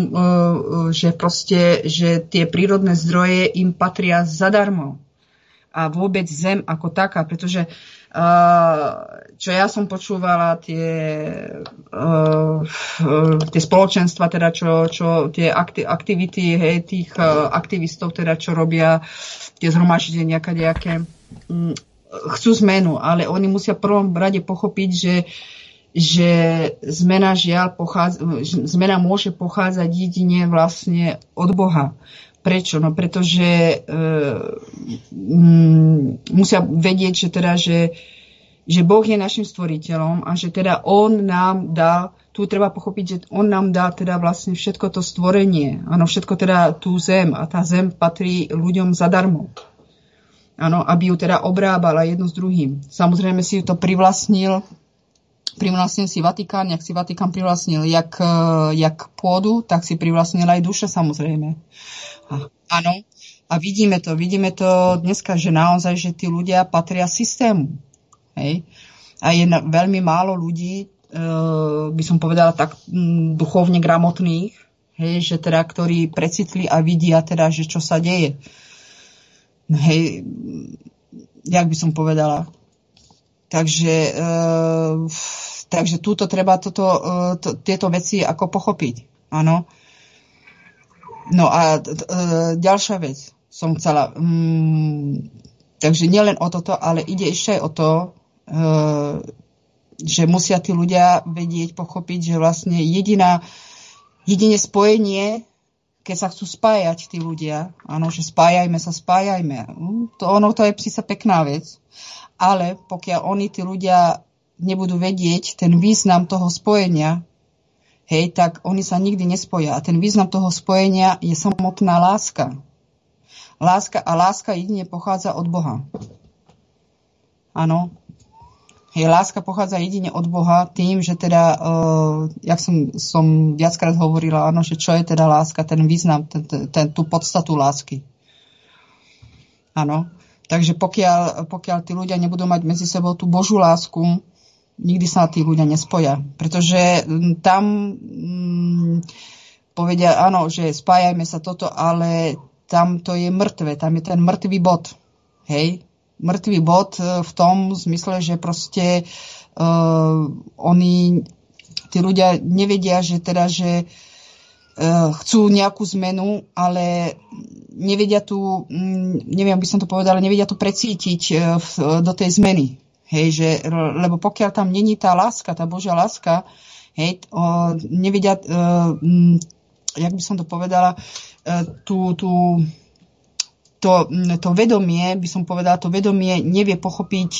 že tie prírodné zdroje im patria zadarmo. A vôbec zem ako taká, pretože čo ja som počúvala, tie spoločenstva, teda čo tie aktivity, hej, tých aktivistov, teda čo robia tie zhromaždenia kadejaké, chcú zmenu, ale oni musia v prvom rade pochopiť, že zmena zmena môže pochádzať jedine vlastne od Boha. Prečo? No pretože musia vedieť, že Boh je našim stvoriteľom a že teda On nám dal, tu treba pochopiť, že On nám dá teda vlastne všetko to stvorenie, áno, všetko teda tú zem a tá zem patrí ľuďom zadarmo. Áno, aby ju teda obrábala jedno s druhým. Samozrejme si to privlastnil si Vatikán, jak si Vatikán privlastnil jak pôdu, tak si privlastnil aj duše, samozrejme. Áno. A vidíme to dneska, že naozaj, že tí ľudia patria systému. Hej. A je veľmi málo ľudí, by som povedala tak duchovne gramotných, hej, že teda, ktorí precitli a vidia teda, že čo sa deje. Hej, jak by som povedala. Takže túto treba tieto veci ako pochopiť. Áno. No a ďalšia vec som chcela. Takže nielen o toto, ale ide ešte aj o to, že musia tí ľudia vedieť, pochopiť, že vlastne jedine spojenie, keď sa chcú spájať tí ľudia, áno, že spájajme. To je síce pekná vec, ale pokiaľ tí ľudia nebudú vedieť ten význam toho spojenia, hej, tak oni sa nikdy nespoja. A ten význam toho spojenia je samotná láska. Láska jedine pochádza od Boha. Áno. Hej, láska pochádza jedine od Boha tým, že teda, jak som viackrát hovorila, áno, že čo je teda láska, ten význam, tú podstatu lásky. Áno. Takže pokiaľ tí ľudia nebudú mať medzi sebou tú Božú lásku, nikdy sa tí ľudia nespoja. Pretože tam povedia, áno, že spájajme sa toto, ale tam to je mŕtve, tam je ten mŕtvý bod. Hej? Mŕtvý bod v tom zmysle, že proste tí ľudia nevedia, že teda, že chcú nejakú zmenu, ale nevedia tu, neviem, by som to povedala, nevedia tu precítiť do tej zmeny. Hej, lebo pokiaľ tam není tá láska, tá Božia láska, hej, nevedia, jak by som to povedala, to vedomie, by som povedala, to vedomie nevie pochopiť,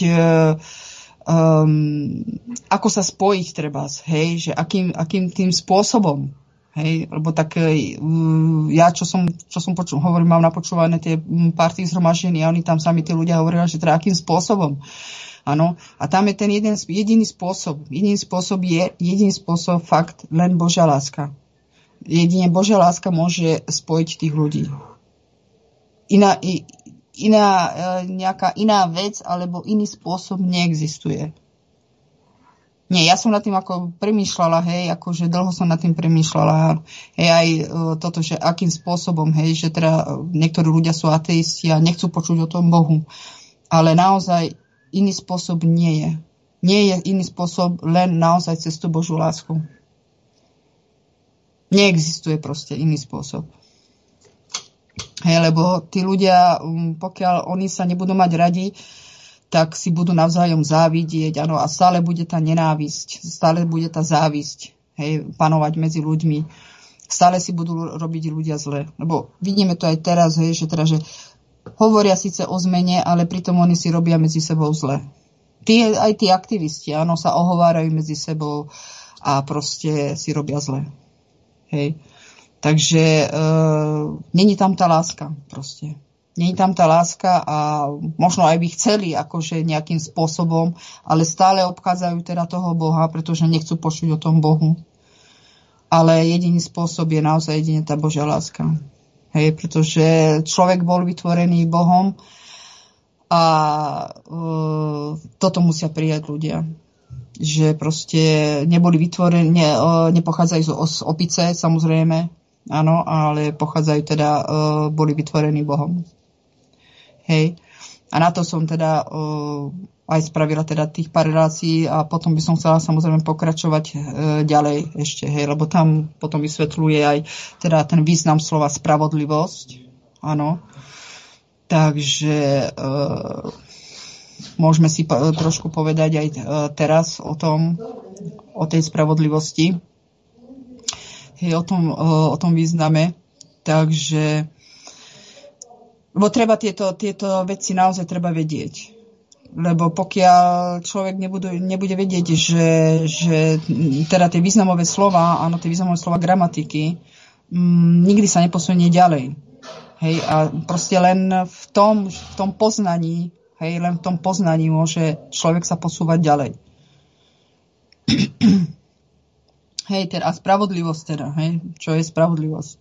ako sa spojiť treba, hej, že akým tým spôsobom. Hej, lebo tak ja, čo som hovorím, mám napočúvané tie pár tých zhromaždení a oni tam sami tí ľudia hovorili, že teda akým spôsobom. Áno, a tam je ten jediný spôsob. Jediný spôsob fakt len Božia láska. Jedine Božia láska môže spojiť tých ľudí. Nejaká iná vec alebo iný spôsob neexistuje. Nie, ja som nad tým ako premýšľala, hej, akože dlho som nad tým premýšľala, hej, aj toto, že akým spôsobom, hej, že teda niektorí ľudia sú ateisti a nechcú počuť o tom Bohu. Ale naozaj iný spôsob nie je. Nie je iný spôsob, len naozaj cez tú Božiu lásku. Neexistuje proste iný spôsob. Hej, lebo tí ľudia, pokiaľ oni sa nebudú mať radi, tak si budú navzájom závidieť, áno, a stále bude tá nenávisť, stále bude tá závisť, hej, panovať medzi ľuďmi. Stále si budú robiť ľudia zle. Lebo vidíme to aj teraz, hej, že hovoria síce o zmene, ale pritom oni si robia medzi sebou zle. Aj tí aktivisti, áno, sa ohovárajú medzi sebou a proste si robia zle. Hej. Takže není tam tá láska proste. Není tam tá láska a možno aj by chceli akože nejakým spôsobom, ale stále obchádzajú teda toho Boha, pretože nechcú počuť o tom Bohu. Ale jediný spôsob je naozaj jedine tá Božia láska. Hej, pretože človek bol vytvorený Bohom a toto musia prijať ľudia. Že proste neboli vytvorení, nepochádzajú z opice, samozrejme, áno, ale pochádzajú teda, boli vytvorení Bohom. Hej. A na to som teda aj spravila teda tých pár relácií a potom by som chcela samozrejme pokračovať ďalej ešte, hej, lebo tam potom vysvetľuje aj teda ten význam slova spravodlivosť, áno. Takže môžeme si trošku povedať aj teraz o tej spravodlivosti, hej, o tom význame. Takže lebo treba tieto veci naozaj treba vedieť. Lebo pokiaľ človek nebude vedieť, že teda tie významové slova, áno, tie významové slova gramatiky, nikdy sa neposunie ďalej. Hej, a proste len v tom poznaní, hej, len v tom poznaní môže človek sa posúvať ďalej. Hej, teda spravodlivosť teda, hej, čo je spravodlivosť?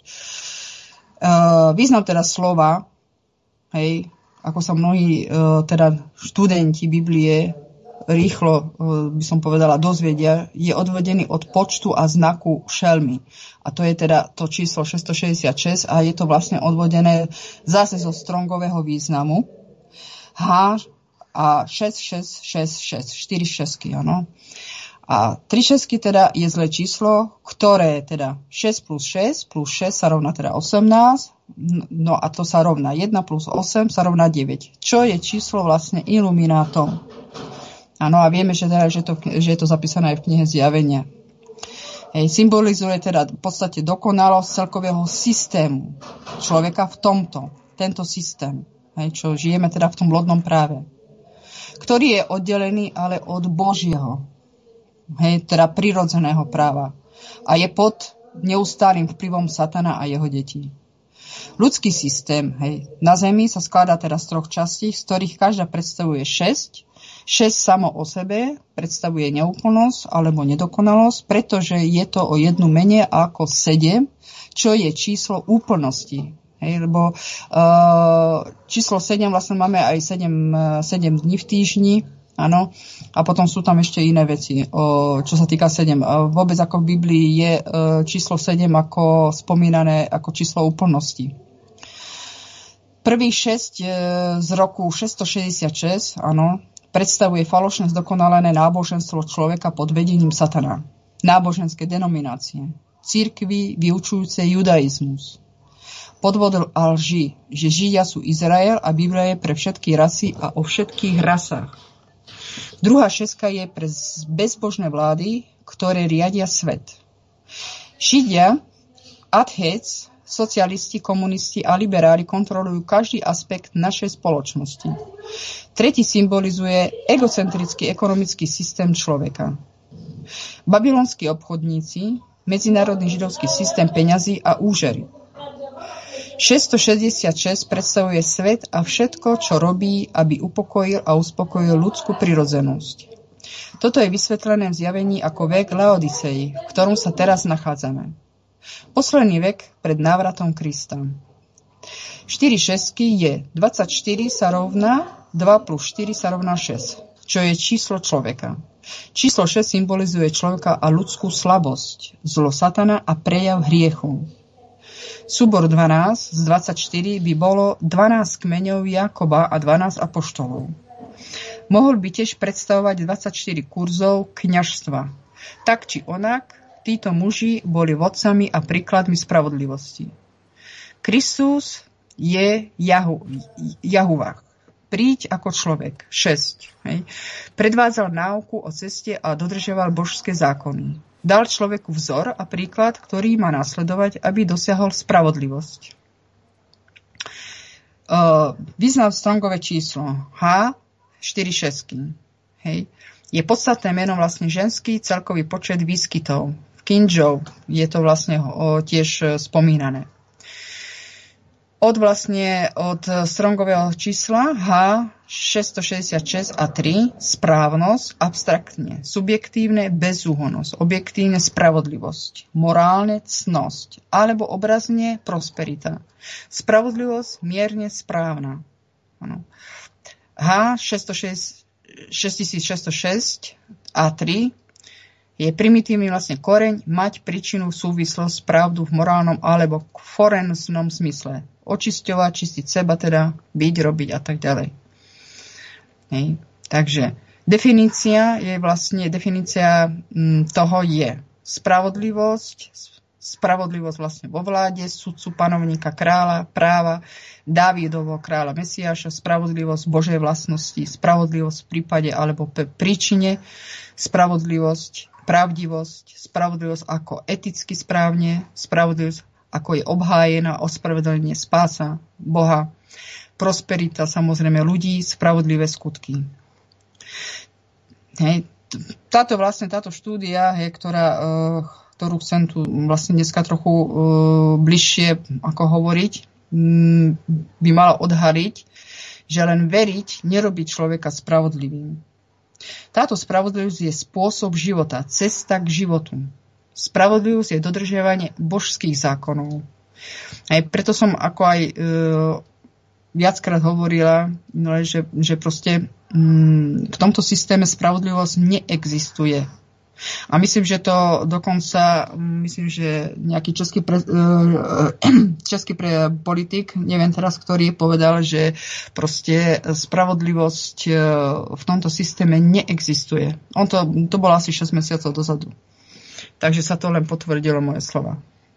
Význam teda slova, hej, ako sa mnohí teda študenti Biblie rýchlo, by som povedala, dozvedia, je odvedený od počtu a znaku šelmy. A to je teda to číslo 666 a je to vlastne odvodené zase zo Strongového významu. H a 6666, 4 šesky, áno. A 3 šesky teda je zlé číslo, ktoré teda 6 plus 6 plus 6 sa rovná teda 18, no a to sa rovná 1 plus 8 sa rovná 9, čo je číslo vlastne iluminátom. Áno, a vieme, že je to zapísané aj v knihe Zjavenia. Hej, symbolizuje teda v podstate dokonalosť celkového systému človeka v tento systém, hej, čo žijeme teda v tom lodnom práve, ktorý je oddelený ale od Božieho, hej, teda prirodzeného práva a je pod neustálým vplyvom Satana a jeho detí. Ľudský systém, hej, na Zemi sa skladá teda z 3 častí, z ktorých každá predstavuje 6. 6 samo o sebe predstavuje neúplnosť alebo nedokonalosť, pretože je to o jednu menej ako 7, čo je číslo úplnosti. Hej, lebo číslo 7 vlastne máme aj 7 dní v týždni, áno, a potom sú tam ešte iné veci, čo sa týka 7. Vôbec ako v Biblii je číslo 7 ako spomínané ako číslo úplnosti. Prvých 6 z roku 666, áno, predstavuje falošné zdokonalené náboženstvo človeka pod vedením Satana. Náboženské denominácie, cirkvi vyučujúce judaizmus. Podvod a lži, že Židia sú Izrael a Biblia je pre všetky rasy a o všetkých rasách. Druhá šestka je pre bezbožné vlády, ktoré riadia svet. Židia, atheists, socialisti, komunisti a liberáli kontrolujú každý aspekt našej spoločnosti. Tretí symbolizuje egocentrický ekonomický systém človeka. Babylonskí obchodníci, medzinárodný židovský systém peňazí a úžery. 666 predstavuje svet a všetko, čo robí, aby upokojil a uspokojil ľudskú prirodzenosť. Toto je vysvetlené v zjavení ako vek Laodicei, v ktorom sa teraz nachádzame. Posledný vek pred návratom Krista. 4 šestky je 24 sa rovná 2 plus 4 sa rovná 6, čo je číslo človeka. Číslo 6 symbolizuje človeka a ľudskú slabosť, zlo satana a prejav hriechu. Súbor 12 z 24 by bolo 12 kmeňov Jakoba a 12 apoštolov. Mohol by tiež predstavovať 24 kurzov kňažstva. Tak či onak, títo muži boli vodcami a príkladmi spravodlivosti. Kristus je Jahuvah. Príď ako človek. 6. Hej. Predvádzal náuku o ceste a dodržiaval božské zákony. Dal človeku vzor a príklad, ktorý má nasledovať, aby dosiahol spravodlivosť. Význam Strongové číslo H 4 šestky. Hej. Je podstatné meno vlastne ženský celkový počet výskytov. V King James je to vlastne tiež spomínané. Od Strongového čísla H 666 a 3 správnosť, abstraktne, subjektívne bezúhonnosť, objektívne spravodlivosť, morálne cnosť, alebo obrazne prosperita. Spravodlivosť mierne správna. Ano. H 6606 a 3 je primitívny vlastne koreň mať príčinu, súvislosť, pravdu v morálnom alebo forenznom zmysle. Očisťovať, čistiť seba, teda byť, robiť a tak ďalej. Hej. Takže definícia toho je spravodlivosť vlastne vo vláde, sudcu, panovníka, kráľa, práva, Dávidovo kráľa Mesiáša, spravodlivosť Božej vlastnosti, spravodlivosť v prípade alebo príčine, spravodlivosť, pravdivosť, spravodlivosť ako eticky správne, spravodlivosť ako je obhájená, ospravedlnenie, spása Boha, prosperita samozrejme ľudí, spravodlivé skutky. Hej. Táto štúdia, ktorú chcem tu vlastne dneska trochu bližšie ako hovoriť, by mala odhaliť, že len veriť nerobí človeka spravodlivým. Táto spravodlivosť je spôsob života, cesta k životu. Spravodlivosť je dodržiavanie božských zákonov. Aj preto som ako aj viackrát hovorila, že proste v tomto systéme spravodlivosť neexistuje. A myslím, že to dokonca, že nejaký český politik, neviem teraz, ktorý povedal, že proste spravodlivosť v tomto systéme neexistuje. To bolo asi 6 mesiacov dozadu. Takže sa to len potvrdilo moje slova.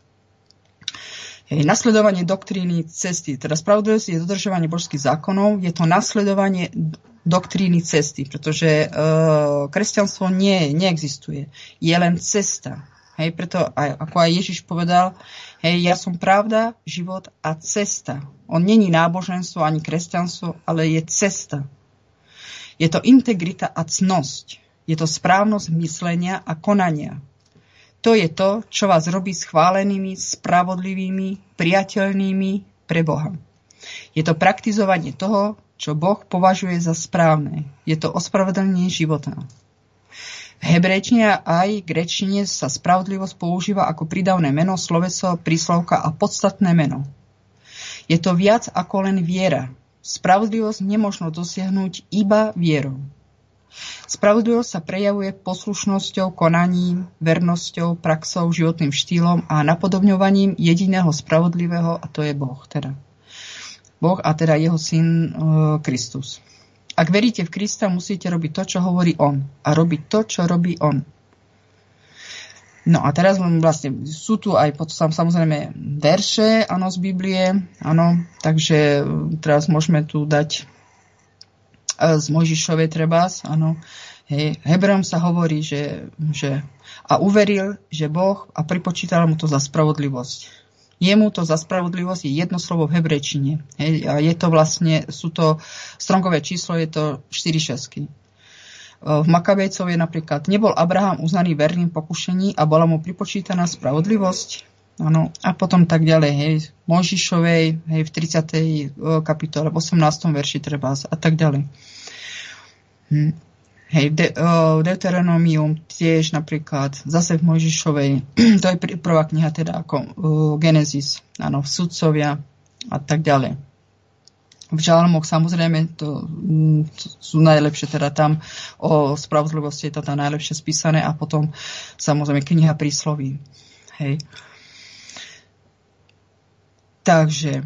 Nasledovanie doktríny cesty. Teda spravodlivosť je dodržovanie božských zákonov, je to nasledovanie doktríny cesty, pretože kresťanstvo neexistuje. Je len cesta. Hej, preto ako aj Ježiš povedal, ja som pravda, život a cesta. On není náboženstvo ani kresťanstvo, ale je cesta. Je to integrita a cnosť. Je to správnosť myslenia a konania. To je to, čo vás robí schválenými, spravodlivými, priateľnými pre Boha. Je to praktizovanie toho, čo Boh považuje za správne. Je to ospravedlnenie života. V hebrejčine aj gréčtine sa spravodlivosť používa ako prídavné meno, sloveso, príslovka a podstatné meno. Je to viac ako len viera. Spravodlivosť nemožno dosiahnuť iba vierou. Spravodlivosť sa prejavuje poslušnosťou, konaním, vernosťou, praxou, životným štýlom a napodobňovaním jediného spravodlivého, a to je Boh. Boh a teda jeho syn Kristus. Ak veríte v Krista, musíte robiť to, čo hovorí on. A robiť to, čo robí on. No a teraz vlastne sú tu aj potom samozrejme verše, z Biblie, takže teraz môžeme tu dať z Mojžišovej trebás, Hebrejom sa hovorí, že a uveril, že Boh a pripočítal mu to za spravodlivosť. Jemu to za spravodlivosť je jedno slovo v hebrejčine. A je to vlastne, sú to Strongové číslo, je to 4 šestky. V Makabejcov je napríklad, nebol Abraham uznaný verným pokušení a bola mu pripočítaná spravodlivosť. Áno, a potom tak ďalej, hej, Mojžišovej, hej, v 30. kapitole, v 18. verši treba a tak ďalej. Hej, Deuteronomium tiež napríklad, zase v Mojžišovej, to je prvá kniha teda ako Genesis, áno, v Sudcovia a tak ďalej. V Žalmoch samozrejme to sú najlepšie, teda tam o spravodlivosti je to tam najlepšie spísané a potom samozrejme kniha prísloví. Hej. Takže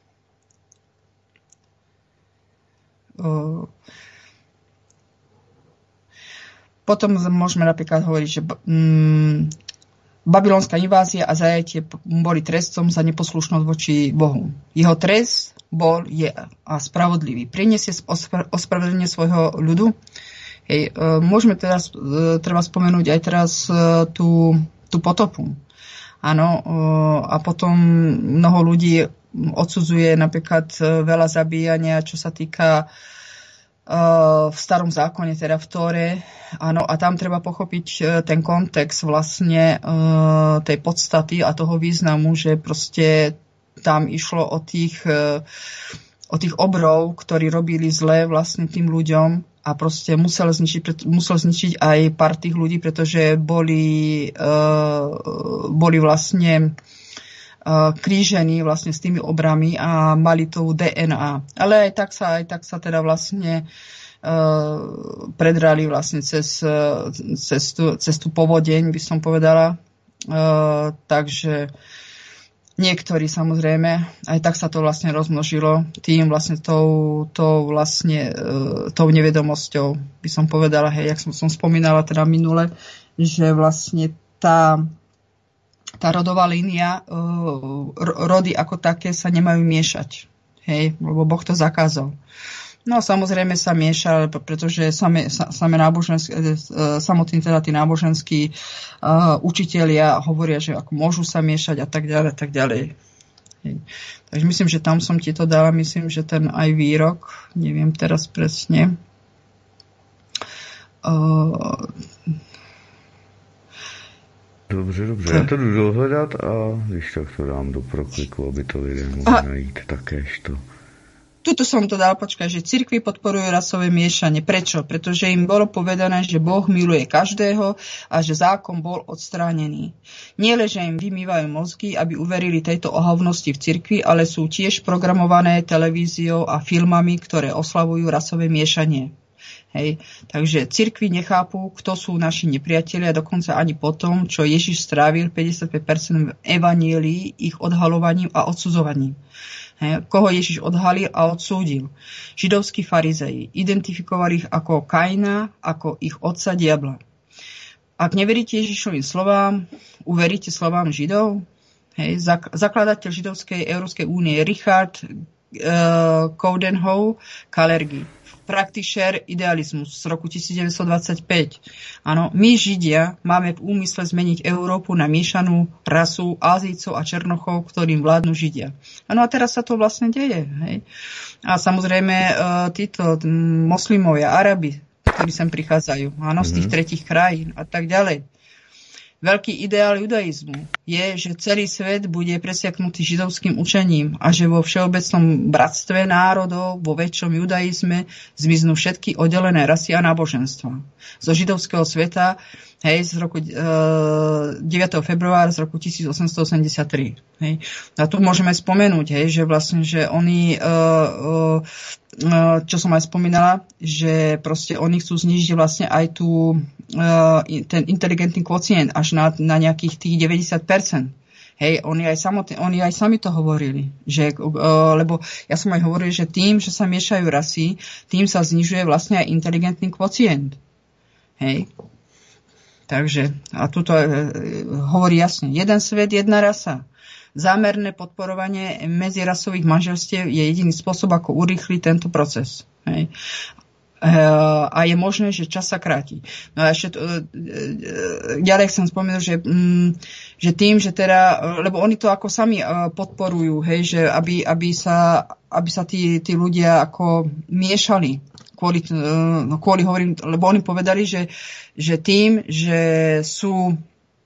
potom môžeme napríklad hovoriť, že babylonská invázia a zajatie boli trestom za neposlušnosť voči Bohu. Jeho trest bol, je a spravodlivý. Prinesie ospravedlnenie svojho ľudu. Hej, môžeme teraz, treba spomenúť aj teraz tú potopu. Áno, a potom mnoho ľudí odsudzuje napríklad veľa zabíjania, čo sa týka v starom zákone, teda v Tóre. Áno, a tam treba pochopiť ten kontext vlastne tej podstaty a toho významu, že proste tam išlo o tých obrov, ktorí robili zle vlastne tým ľuďom a proste musel zničiť aj pár tých ľudí, pretože boli vlastne krížení vlastne s tými obrami a mali tú DNA. Ale aj tak sa teda vlastne predrali vlastne cez tú povodeň, by som povedala. Takže niektorí samozrejme, aj tak sa to vlastne rozmnožilo tým vlastne tou nevedomosťou, by som povedala, hej, jak som spomínala teda minule, že vlastne tá rodová línia, rody ako také sa nemajú miešať, hej, lebo Boh to zakázal. No samozrejme sa mieša, pretože samotní teda tí náboženskí učitelia hovoria, že ako môžu sa miešať a tak ďalej, tak ďalej. Takže myslím, že tam som ti to dala, myslím, že ten aj výrok, neviem teraz presne. Dobře, já to jdu dohledat a když tak to dám do prokliku, aby to lidé mohli najít takéž to. Tuto som to dal, počkaj, že cirkvi podporujú rasové miešanie. Prečo? Pretože im bolo povedané, že Boh miluje každého a že zákon bol odstránený. Nie len, že im vymývajú mozgy, aby uverili tejto ohavnosti v cirkvi, ale sú tiež programované televíziou a filmami, ktoré oslavujú rasové miešanie. Hej. Takže cirkvi nechápu, kto sú naši nepriatelia, dokonca ani po tom, čo Ježiš strávil 55% v evanjelií ich odhalovaním a odsudzovaním. Hej. Koho Ježiš odhalil a odsúdil? Židovskí farizeji. Identifikovali ich ako Kaina, ako ich otca diabla. Ak neveríte Ježišovým slovám, uveríte slovám Židov? Hej. Zakladateľ Židovskej Európskej únie Richard Coudenhove Kalergi. Praktišer idealizmus z roku 1925. Áno, my Židia máme v úmysle zmeniť Európu na miešanú rasu Ázijcov a Černochov, ktorým vládnu Židia. Áno, a teraz sa to vlastne deje. Hej? A samozrejme títo moslimovia, Arabi, ktorí sem prichádzajú, áno, z tých tretích krajín a tak ďalej. Veľký ideál judaizmu je, že celý svet bude presiaknutý židovským učením a že vo všeobecnom bratstve národov, vo väčšom judaizme zmiznú všetky oddelené rasy a náboženstva. Zo židovského sveta, hej, z roku 9. februára z roku 1883. Hej. A tu môžeme spomenúť, hej, že vlastne, že oni, čo som aj spomínala, že proste oni chcú znižiť vlastne aj ten inteligentný kvocient až na nejakých tých 90%. Hej, oni aj sami to hovorili, že, lebo ja som aj hovoril, že tým, že sa miešajú rasy, tým sa znižuje vlastne aj inteligentný kvocient. Hej. Takže, a tuto hovorí jasne, jeden svet, jedna rasa. Zámerné podporovanie medzirasových manželstiev je jediný spôsob, ako urýchliť tento proces. Hej. A je možné, že čas sa kráti. No a ešte ďalej chcem spomenúť, že tým, že teda, lebo oni to ako sami podporujú, hej, že aby sa tí ľudia ako miešali kvôli hovorím, lebo oni povedali, že tým, že sú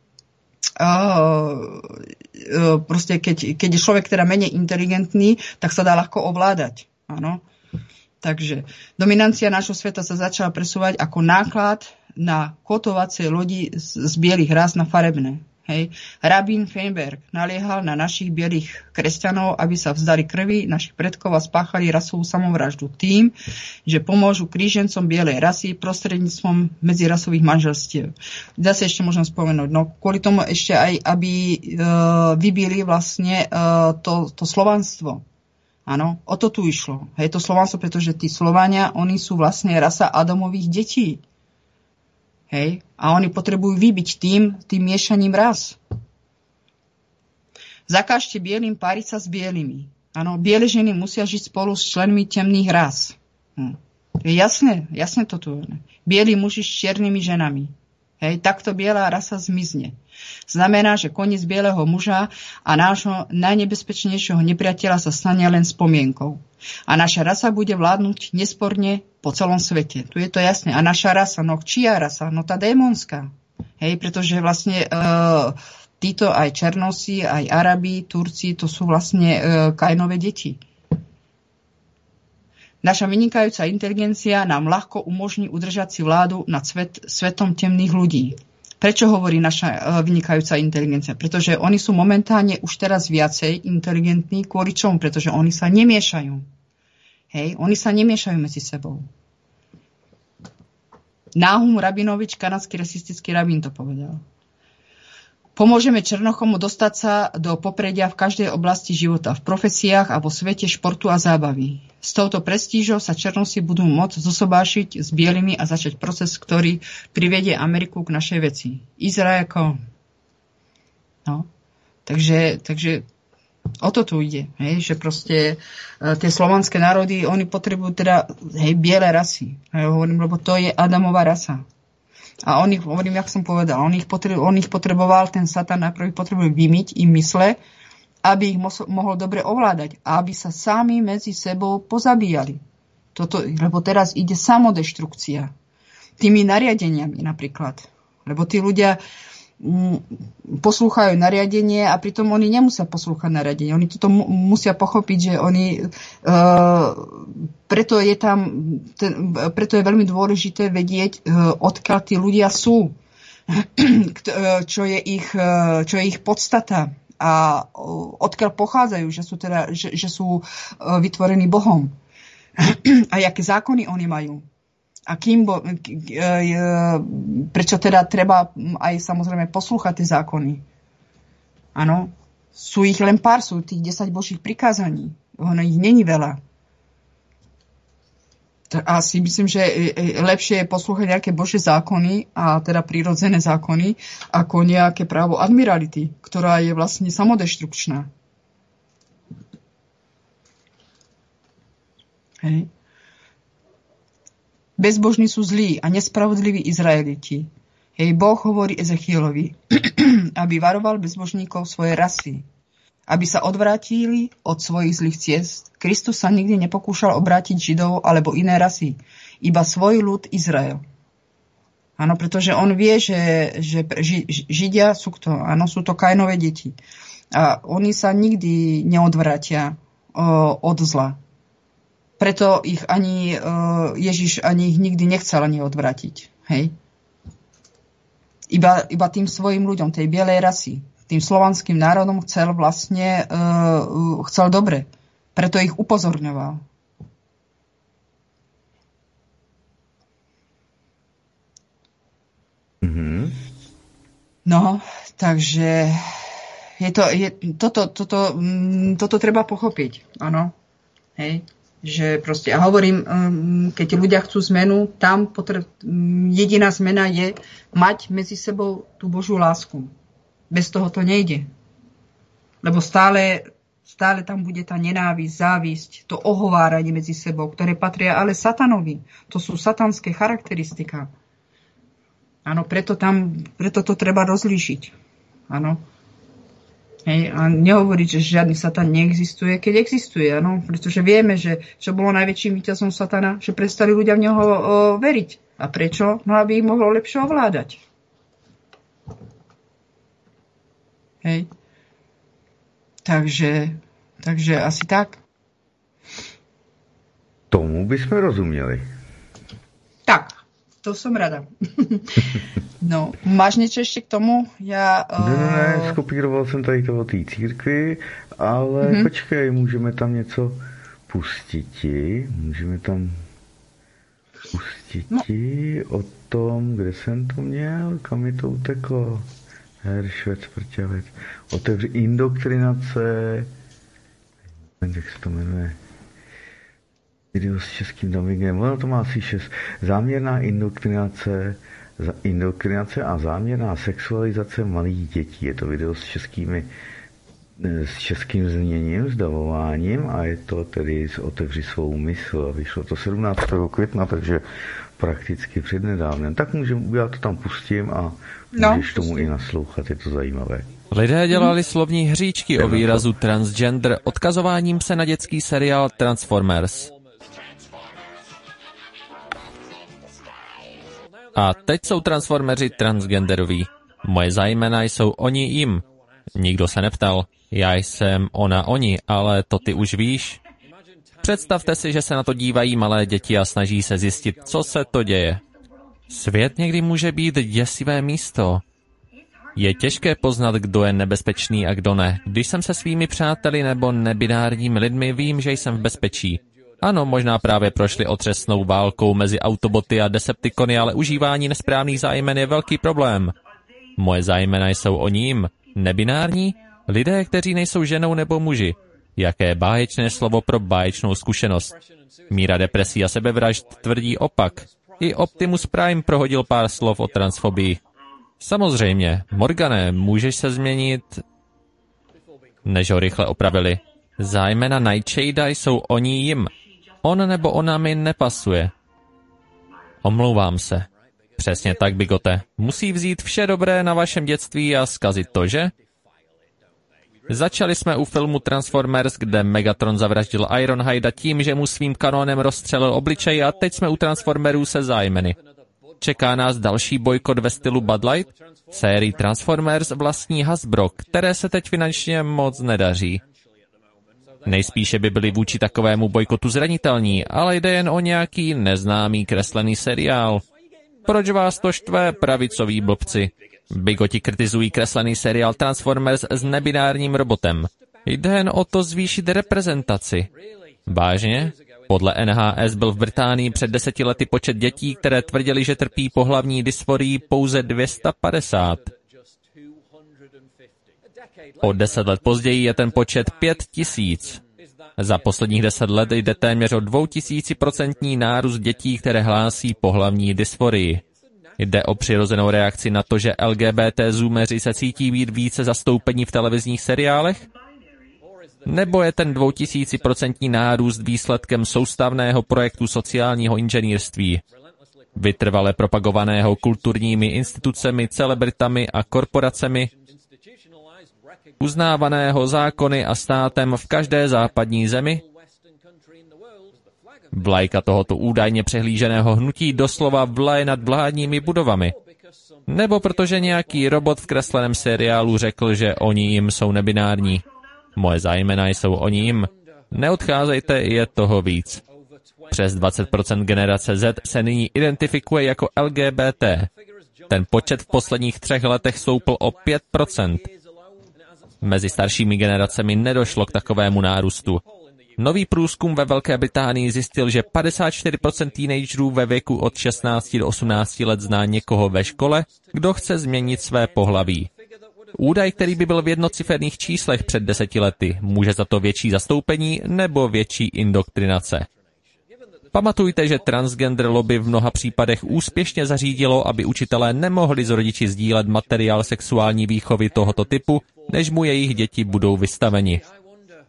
proste keď je človek teda menej inteligentný, tak sa dá ľahko ovládať. Áno. Takže dominancia nášho sveta sa začala presúvať ako náklad na kotovacie lodi z bielých rás na farebné. Hej. Rabín Feinberg naliehal na našich bielých kresťanov, aby sa vzdali krvi našich predkov a spáchali rasovú samovraždu tým, že pomôžu krížencom bielej rasy prostredníctvom medzirasových manželstiev. Zase ešte môžem spomenúť, no kvôli tomu ešte aj, aby vybili vlastne to slovanstvo. Áno, o to tu išlo. Hej, to Slovanstvo, pretože tí Slovania, oni sú vlastne rasa Adamových detí. Hej, a oni potrebujú vybiť tým miešaním ras. Zakážte bielým páriť sa s bielými. Áno, biele ženy musia žiť spolu s členmi temných ras. Je jasné to tu. Bielí muži s čiernymi ženami. Hej, takto biela rasa zmizne. Znamená, že koniec bieleho muža a nášho najnebezpečnejšieho nepriateľa sa stane len spomienkou. A naša rasa bude vládnuť nesporne po celom svete. Tu je to jasné. A naša rasa, no čia rasa? No tá démonská. Hej, pretože vlastne títo aj Černosi, aj Arabi, Turci, to sú vlastne Kainové deti. Naša vynikajúca inteligencia nám ľahko umožní udržať si vládu nad svetom temných ľudí. Prečo hovorí naša vynikajúca inteligencia? Pretože oni sú momentálne už teraz viacej inteligentní. Kvôli čomu? Pretože oni sa nemiešajú. Hej, oni sa nemiešajú medzi sebou. Náhum Rabinovič, kanadský rasistický rabín, to povedal. Pomôžeme Černochomu dostať sa do popredia v každej oblasti života, v profesiách a vo svete športu a zábavy. S touto prestížou sa Černosi budú môcť zosobášiť s bielými a začať proces, ktorý privedie Ameriku k našej veci. Izrael. No. Takže o to tu ide, hej, že proste tie slovanské národy, oni potrebujú teda biele rasy. Hej, hovorím, lebo to je Adamová rasa. A on ich, hovorím, jak som povedal, on ich potreboval, ten Satan najprv potrebuje vymyť im mysle, aby ich mohol dobre ovládať a aby sa sami medzi sebou pozabíjali. Lebo teraz ide samodeštrukcia. Tými nariadeniami napríklad. Lebo tí ľudia poslúchajú nariadenie a pritom oni nemusia poslúchať nariadenie. Oni toto musia pochopiť, že oni preto je veľmi dôležité vedieť, odkiaľ tí ľudia sú, čo je ich podstata a odkiaľ pochádzajú, že sú vytvorení Bohom a aké zákony oni majú. A prečo teda treba aj samozrejme poslúchať tie zákony? Áno, sú ich len pár, sú tých 10 Božích prikázaní. Ono ich není veľa. A si myslím, že lepšie je poslúchať nejaké Božie zákony, a teda prírodzené zákony, ako nejaké právo admirality, ktorá je vlastne samodeštrukčná. Hej. Bezbožní sú zlí a nespravodliví Izraeliti. Hej, Boh hovorí Ezechielovi, aby varoval bezbožníkov svojej rasy, aby sa odvrátili od svojich zlých ciest. Kristus sa nikdy nepokúšal obrátiť Židov alebo iné rasy, iba svoj ľud Izrael. Áno, pretože on vie, že Židia sú to, áno, sú to Kainové deti. A oni sa nikdy neodvrátia od zla. Preto ich ani Ježiš ani ich nikdy nechcel ani odvrátiť. Hej? Iba tým svojim ľuďom, tej bielej rasy, tým slovanským národom chcel dobre. Preto ich upozorňoval. Mm-hmm. No, takže toto treba pochopiť. Áno. Hej. Že proste, a hovorím, keď ľudia chcú zmenu, tam jediná zmena je mať medzi sebou tú Božiu lásku. Bez toho to nejde. Lebo stále Stále tam bude tá nenávisť, závisť, to ohováranie medzi sebou, ktoré patria ale satanovi. To sú satanské charakteristika. Áno, preto to treba rozlíšiť. Áno. Hej, a nehovoriť, že žiadny satan neexistuje, keď existuje, áno, pretože vieme, že čo bolo najväčším víťazom satana, že prestali ľudia v neho veriť. A prečo? No, aby ich mohlo lepšie ovládať. Hej. Takže asi tak. Tomu bychom rozuměli. Tak, to som rada. No, máš niečo ešte k tomu? Ne, skopíroval jsem tady to o té církvi, ale počkej, můžeme tam něco pustiti. Můžeme tam pustiti o tom, kde jsem to měl, kam mi to uteklo. Heršvec, prťavec. Otevři indoktrinace. Jak se to jmenuje? Video s českým dubbingem. Ono to má asi 6. Záměrná indoktrinace a záměrná sexualizace malých dětí. Je to video s českým zněním, s davováním a je to tedy Otevři svou mysl. Vyšlo to 17. května, takže prakticky přednedávnem. Tak já to tam pustím a můžeš tomu i naslouchat, je to zajímavé. Lidé dělali slovní hříčky o výrazu transgender odkazováním se na dětský seriál Transformers. A teď jsou transformeři transgenderoví. Moje zájmena jsou oni jim. Nikdo se neptal. Já jsem ona oni, ale to ty už víš. Představte si, že se na to dívají malé děti a snaží se zjistit, co se to děje. Svět někdy může být děsivé místo. Je těžké poznat, kdo je nebezpečný a kdo ne. Když jsem se svými přáteli nebo nebinárními lidmi, vím, že jsem v bezpečí. Ano, možná právě prošli otřesnou válkou mezi Autoboty a Decepticony, ale užívání nesprávných zájmen je velký problém. Moje zájmena jsou oni jim. Nebinární? Lidé, kteří nejsou ženou nebo muži. Jaké báječné slovo pro báječnou zkušenost. Míra depresí a sebevražd tvrdí opak. I Optimus Prime prohodil pár slov o transfobii. Samozřejmě, Morgane, můžeš se změnit... Než ho rychle opravili. Zájmena Nightshada jsou oni jim. On nebo ona mi nepasuje. Omlouvám se. Přesně tak, Bigote. Musí vzít vše dobré na vašem dětství a zkazit to, že? Začali jsme u filmu Transformers, kde Megatron zavraždil Ironhida tím, že mu svým kanónem rozstřelil obličej a teď jsme u Transformerů se zájmeny. Čeká nás další bojkot ve stylu Bud Light? Sérii Transformers vlastní Hasbro, které se teď finančně moc nedaří. Nejspíše by byli vůči takovému bojkotu zranitelní, ale jde jen o nějaký neznámý kreslený seriál. Proč vás to štve, pravicoví blbci? Bigoti kritizují kreslený seriál Transformers s nebinárním robotem. Jde jen o to zvýšit reprezentaci. Vážně? Podle NHS byl v Británii před 10 lety počet dětí, které tvrdili, že trpí pohlavní dysforii, pouze 250. O 10 let později je ten počet 5000. Za posledních 10 let jde téměř o 2000% nárůst dětí, které hlásí pohlavní dysforii. Jde o přirozenou reakci na to, že LGBT zoomeři se cítí být více zastoupení v televizních seriálech? Nebo je ten 2000% nárůst výsledkem soustavného projektu sociálního inženýrství, vytrvale propagovaného kulturními institucemi, celebritami a korporacemi, uznávaného zákony a státem v každé západní zemi? Vlajka tohoto údajně přehlíženého hnutí doslova vlaje nad vládními budovami. Nebo protože nějaký robot v kresleném seriálu řekl, že oni jim jsou nebinární. Moje zájmena jsou oni jim. Neodcházejte, je toho víc. Přes 20% generace Z se nyní identifikuje jako LGBT. Ten počet v posledních 3 letech stoupl o 5%. Mezi staršími generacemi nedošlo k takovému nárůstu. Nový průzkum ve Velké Británii zjistil, že 54% teenagerů ve věku od 16 do 18 let zná někoho ve škole, kdo chce změnit své pohlaví. Údaj, který by byl v jednociferných číslech před 10 lety, může za to větší zastoupení nebo větší indoktrinace. Pamatujte, že transgender lobby v mnoha případech úspěšně zařídilo, aby učitelé nemohli s rodiči sdílet materiál sexuální výchovy tohoto typu, než mu jejich děti budou vystaveni.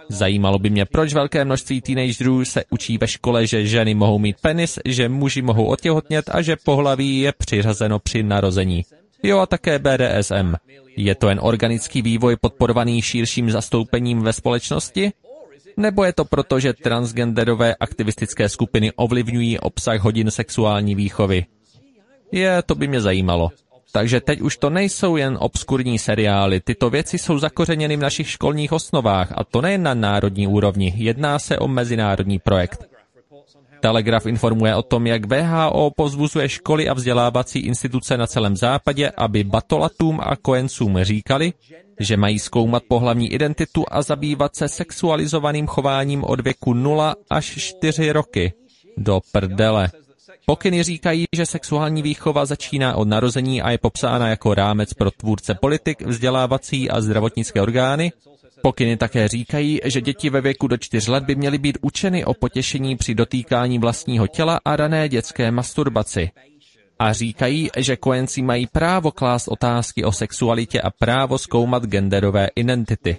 Zajímalo by mě, proč velké množství teenagerů se učí ve škole, že ženy mohou mít penis, že muži mohou otěhotnět a že pohlaví je přiřazeno při narození. Jo, a také BDSM. Je to jen organický vývoj podporovaný širším zastoupením ve společnosti? Nebo je to proto, že transgenderové aktivistické skupiny ovlivňují obsah hodin sexuální výchovy? To by mě zajímalo. Takže teď už to nejsou jen obskurní seriály, tyto věci jsou zakořeněny v našich školních osnovách a to nejen na národní úrovni, jedná se o mezinárodní projekt. Telegraf informuje o tom, jak WHO povzbuzuje školy a vzdělávací instituce na celém západě, aby batolatům a kojencům říkali, že mají zkoumat pohlavní identitu a zabývat se sexualizovaným chováním od věku 0 až 4 roky. Do prdele. Pokyny říkají, že sexuální výchova začíná od narození a je popsána jako rámec pro tvůrce politik, vzdělávací a zdravotnické orgány. Pokyny také říkají, že děti ve věku do 4 let by měly být učeny o potěšení při dotýkání vlastního těla a rané dětské masturbaci. A říkají, že kojenci mají právo klást otázky o sexualitě a právo zkoumat genderové identity.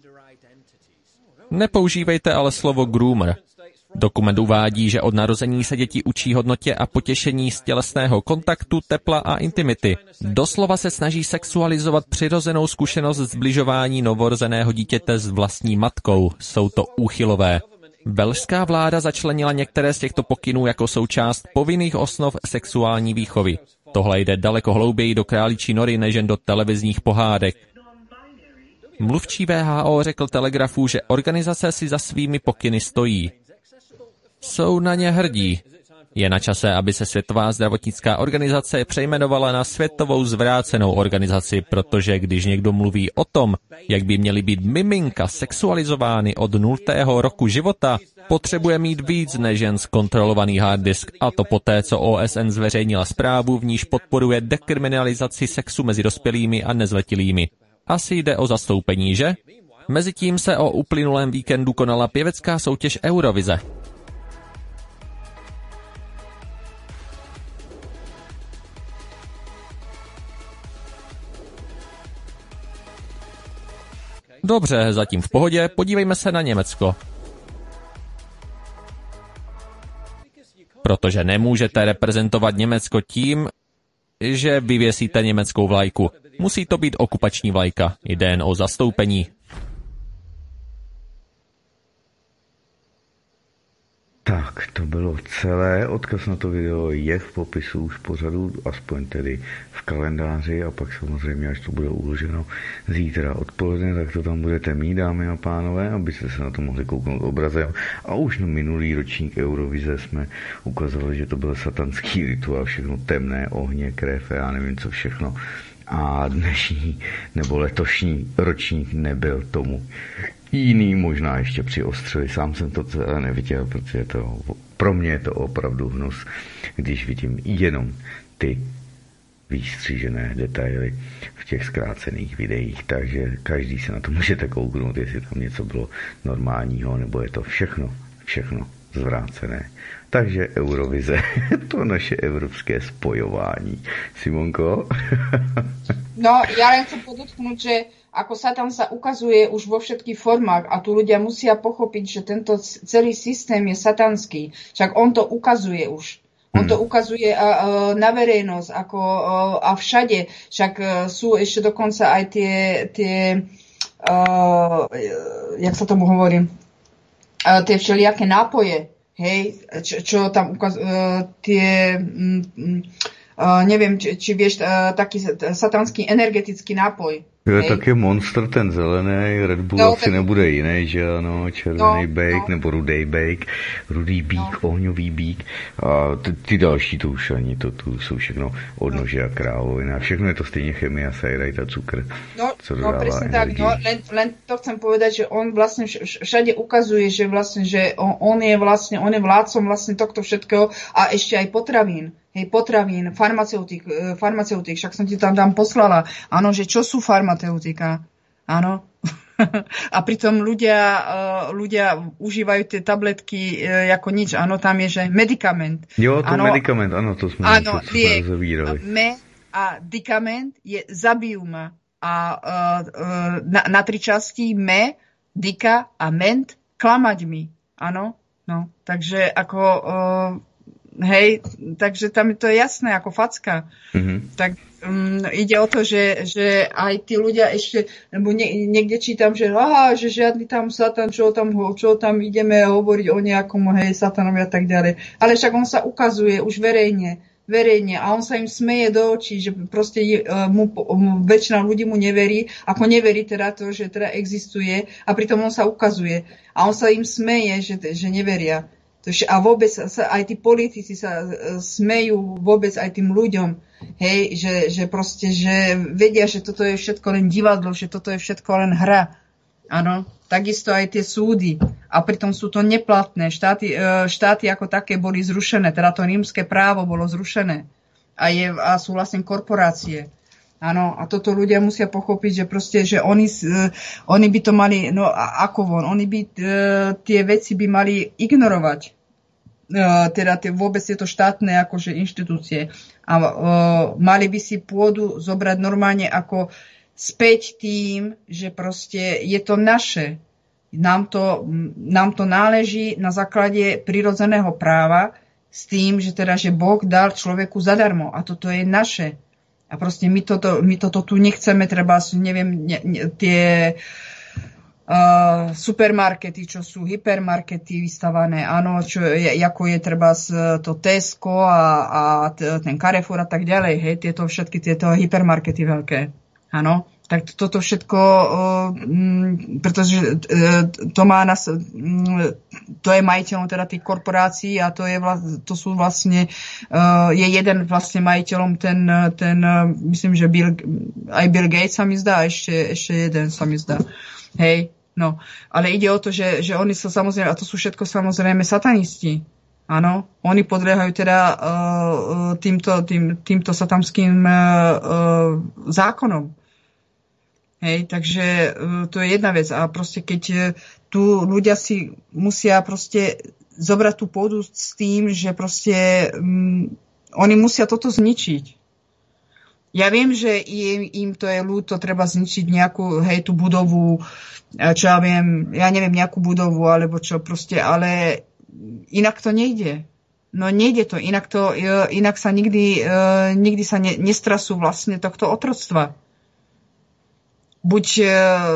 Nepoužívejte ale slovo groomer. Dokument uvádí, že od narození se děti učí hodnotě a potěšení z tělesného kontaktu, tepla a intimity. Doslova se snaží sexualizovat přirozenou zkušenost zbližování novorozeného dítěte s vlastní matkou. Jsou to úchylové. Velšská vláda začlenila některé z těchto pokynů jako součást povinných osnov sexuální výchovy. Tohle jde daleko hlouběji do králičí nory než jen do televizních pohádek. Mluvčí WHO řekl Telegrafu, že organizace si za svými pokyny stojí. Jsou na ně hrdí. Je na čase, aby se Světová zdravotnická organizace přejmenovala na Světovou zvrácenou organizaci, protože když někdo mluví o tom, jak by měly být miminka sexualizovány od 0. roku života, potřebuje mít víc než jen zkontrolovaný hard disk, a to poté, co OSN zveřejnila zprávu, v níž podporuje dekriminalizaci sexu mezi dospělými a nezletilými. Asi jde o zastoupení, že? Mezitím se o uplynulém víkendu konala pěvecká soutěž Eurovize. Dobře, zatím v pohodě, podívejme se na Německo. Protože nemůžete reprezentovat Německo tím, že vyvěsíte německou vlajku. Musí to být okupační vlajka, jde jen o zastoupení. Tak, to bylo celé. Odkaz na to video je v popisu už pořadu, aspoň tedy v kalendáři, a pak samozřejmě, až to bude uloženo zítra odpoledne, tak to tam budete mít, dámy a pánové, abyste se na to mohli kouknout obrazem. A už na minulý ročník Eurovize jsme ukazovali, že to byl satanský rituál, všechno temné, ohně, krev, já nevím co všechno. A dnešní nebo letošní ročník nebyl tomu jiný, možná ještě přiostřili. Sám jsem to neviděl, protože pro mě je to opravdu hnus, když vidím jenom ty vystřížené detaily v těch zkrácených videích, takže každý se na to můžete kouknout, jestli tam něco bylo normálního, nebo je to všechno zvrácené. Takže Eurovize, to naše evropské spojování. Simonko? No, ja len chcem podotknúť, že ako Satan sa ukazuje už vo všetkých formách a tu ľudia musia pochopiť, že tento celý systém je satanský. Však on to ukazuje už. On to ukazuje na verejnosť a všade. Však sú ešte dokonca aj tie jak sa tomu hovorí, tie všelijaké nápoje. Hej, čo tam neviem, či vieš, taký satanský energetický nápoj. Je taky Monster, ten zelený, Red Bull no, asi nebude jiný, že ano, červený bake, nebo rudý bake, rudý bík, ohňový bík a ty další to už ani, to jsou všechno odnože a krávovina, všechno je to stejně chemie a sajrajt a cukr, co dodává presne energii. Tak, len to chcem povedať, že on vlastne všade ukazuje, že vlastne, že on je vládcom vlastne tohto všetkého a ešte aj potravín. Hej, potravín, farmaceutík, však som ti tam poslala. Áno, že čo sú farmaceutika? Áno. A pritom ľudia užívajú tie tabletky ako nič. Áno, tam je, že medikament. Jo, to medikament, áno, to sme zavírali. A dikament je zabijú ma. A na 3 časti dika a ment klamať mi. Áno, no, takže ako, hej, takže tam to je jasné, ako facka. Tak ide o to, že aj tí ľudia ešte, lebo niekde čítam, že žiadny tam Satan, čo tam ideme hovoriť o nejakom, hej, Satanovi a tak ďalej. Ale však on sa ukazuje už verejne a on sa im smeje do očí, že proste väčšina ľudí mu neverí, ako neverí teda to, že teda existuje a pritom on sa ukazuje a on sa im smeje, že neveria. A vôbec aj tí politici sa smejú vôbec aj tým ľuďom, hej, že proste, že vedia, že toto je všetko len divadlo, že toto je všetko len hra. Áno, takisto aj tie súdy. A pritom sú to neplatné. Štáty ako také boli zrušené. Teda to rímske právo bolo zrušené. A sú vlastne korporácie. Áno, a toto ľudia musia pochopiť, že proste, že oni by to mali, no ako von, oni by tie veci by mali ignorovať. Teda vôbec tieto štátne akože inštitúcie. A mali by si pôdu zobrať normálne ako späť tým, že proste je to naše. Nám to náleží na základe prirodzeného práva s tým, že teda, že Boh dal človeku zadarmo a toto je naše. A proste my toto tu nechceme, treba, neviem, tie supermarkety, čo sú hypermarkety vystavané, áno, ako je treba to Tesco a ten Carrefour a tak ďalej, hej, všetky tieto hypermarkety veľké. Áno, tak toto všetko, pretože to je majiteľom teda tých korporácií a to sú vlastne, je jeden vlastne majiteľom ten myslím, že aj Bill Gates sa mi zdá, ešte jeden sa mi zdá. Hej, no, ale ide o to, že oni sa samozrejme, a to sú všetko samozrejme satanisti. Áno, oni podliehajú teda týmto satanským zákonom. Hej, takže to je jedna vec. A proste keď tu ľudia si musia proste zobrať tú pôdu s tým, že proste oni musia toto zničiť. Ja viem, že im to je ľúto, treba zničiť nejakú, hej, tú budovu, čo ja neviem, nejakú budovu, alebo čo proste, ale inak to nejde. No nejde to, inak sa nikdy sa nestrasú vlastne tohto otroctva. Buď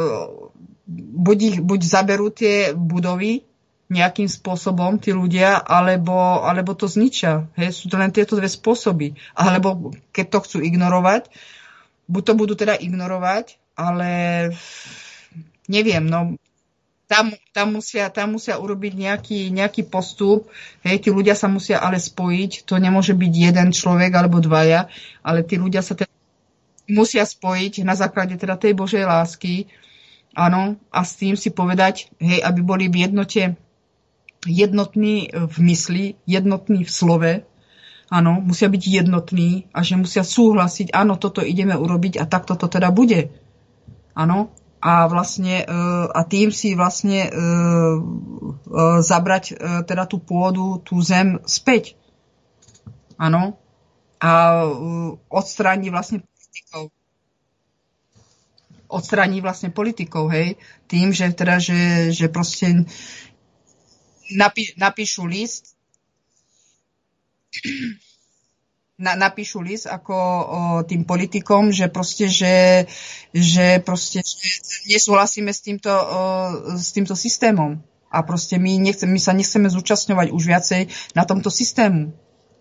zaberú tie budovy nejakým spôsobom, tí ľudia, alebo to zničia. Hej, sú to len tieto dve spôsoby. Alebo keď to chcú ignorovať, buď to budú teda ignorovať, ale neviem, no tam musia urobiť nejaký postup. Hej, tí ľudia sa musia ale spojiť. To nemôže byť jeden človek alebo dvaja, ale tí ľudia sa teda musia spojiť na základe teda tej Božej lásky, áno, a s tým si povedať, hej, aby boli v jednote, jednotní v mysli, jednotní v slove, áno, musia byť jednotní a že musia súhlasiť, áno, toto ideme urobiť a takto to teda bude, áno, a vlastne, a tým si vlastne zabrať teda tú pôdu, tú zem späť, áno, a odstrániť politikov, hej, tým, že teda, že proste napíšu list ako tým politikom, že proste, že nesúhlasíme s týmto systémom a proste my sa nechceme zúčastňovať už viacej na tomto systému.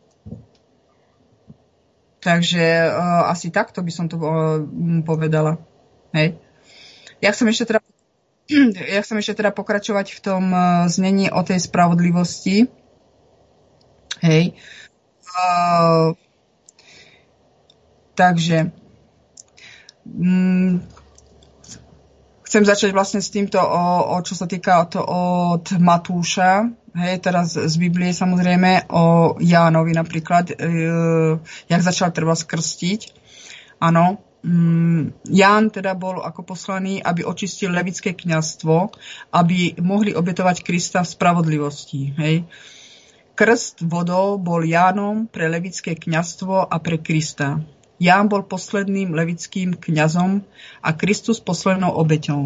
Takže asi takto by som to povedala. Hej. Ja chcem ešte teda pokračovať v tom znení o tej spravodlivosti. Hej. Takže chcem začať vlastne s týmto, čo sa týka od Matúša. Hej, teraz z Biblie samozrejme o Jánovi napríklad, jak začal treba skrstiť. Áno, Ján teda bol ako poslaný, aby očistil levické kňazstvo, aby mohli obetovať Krista v spravodlivosti. Hej. Krst vodou bol Jánom pre levické kňazstvo a pre Krista. Ján bol posledným levickým kňazom a Kristus poslednou obeťou.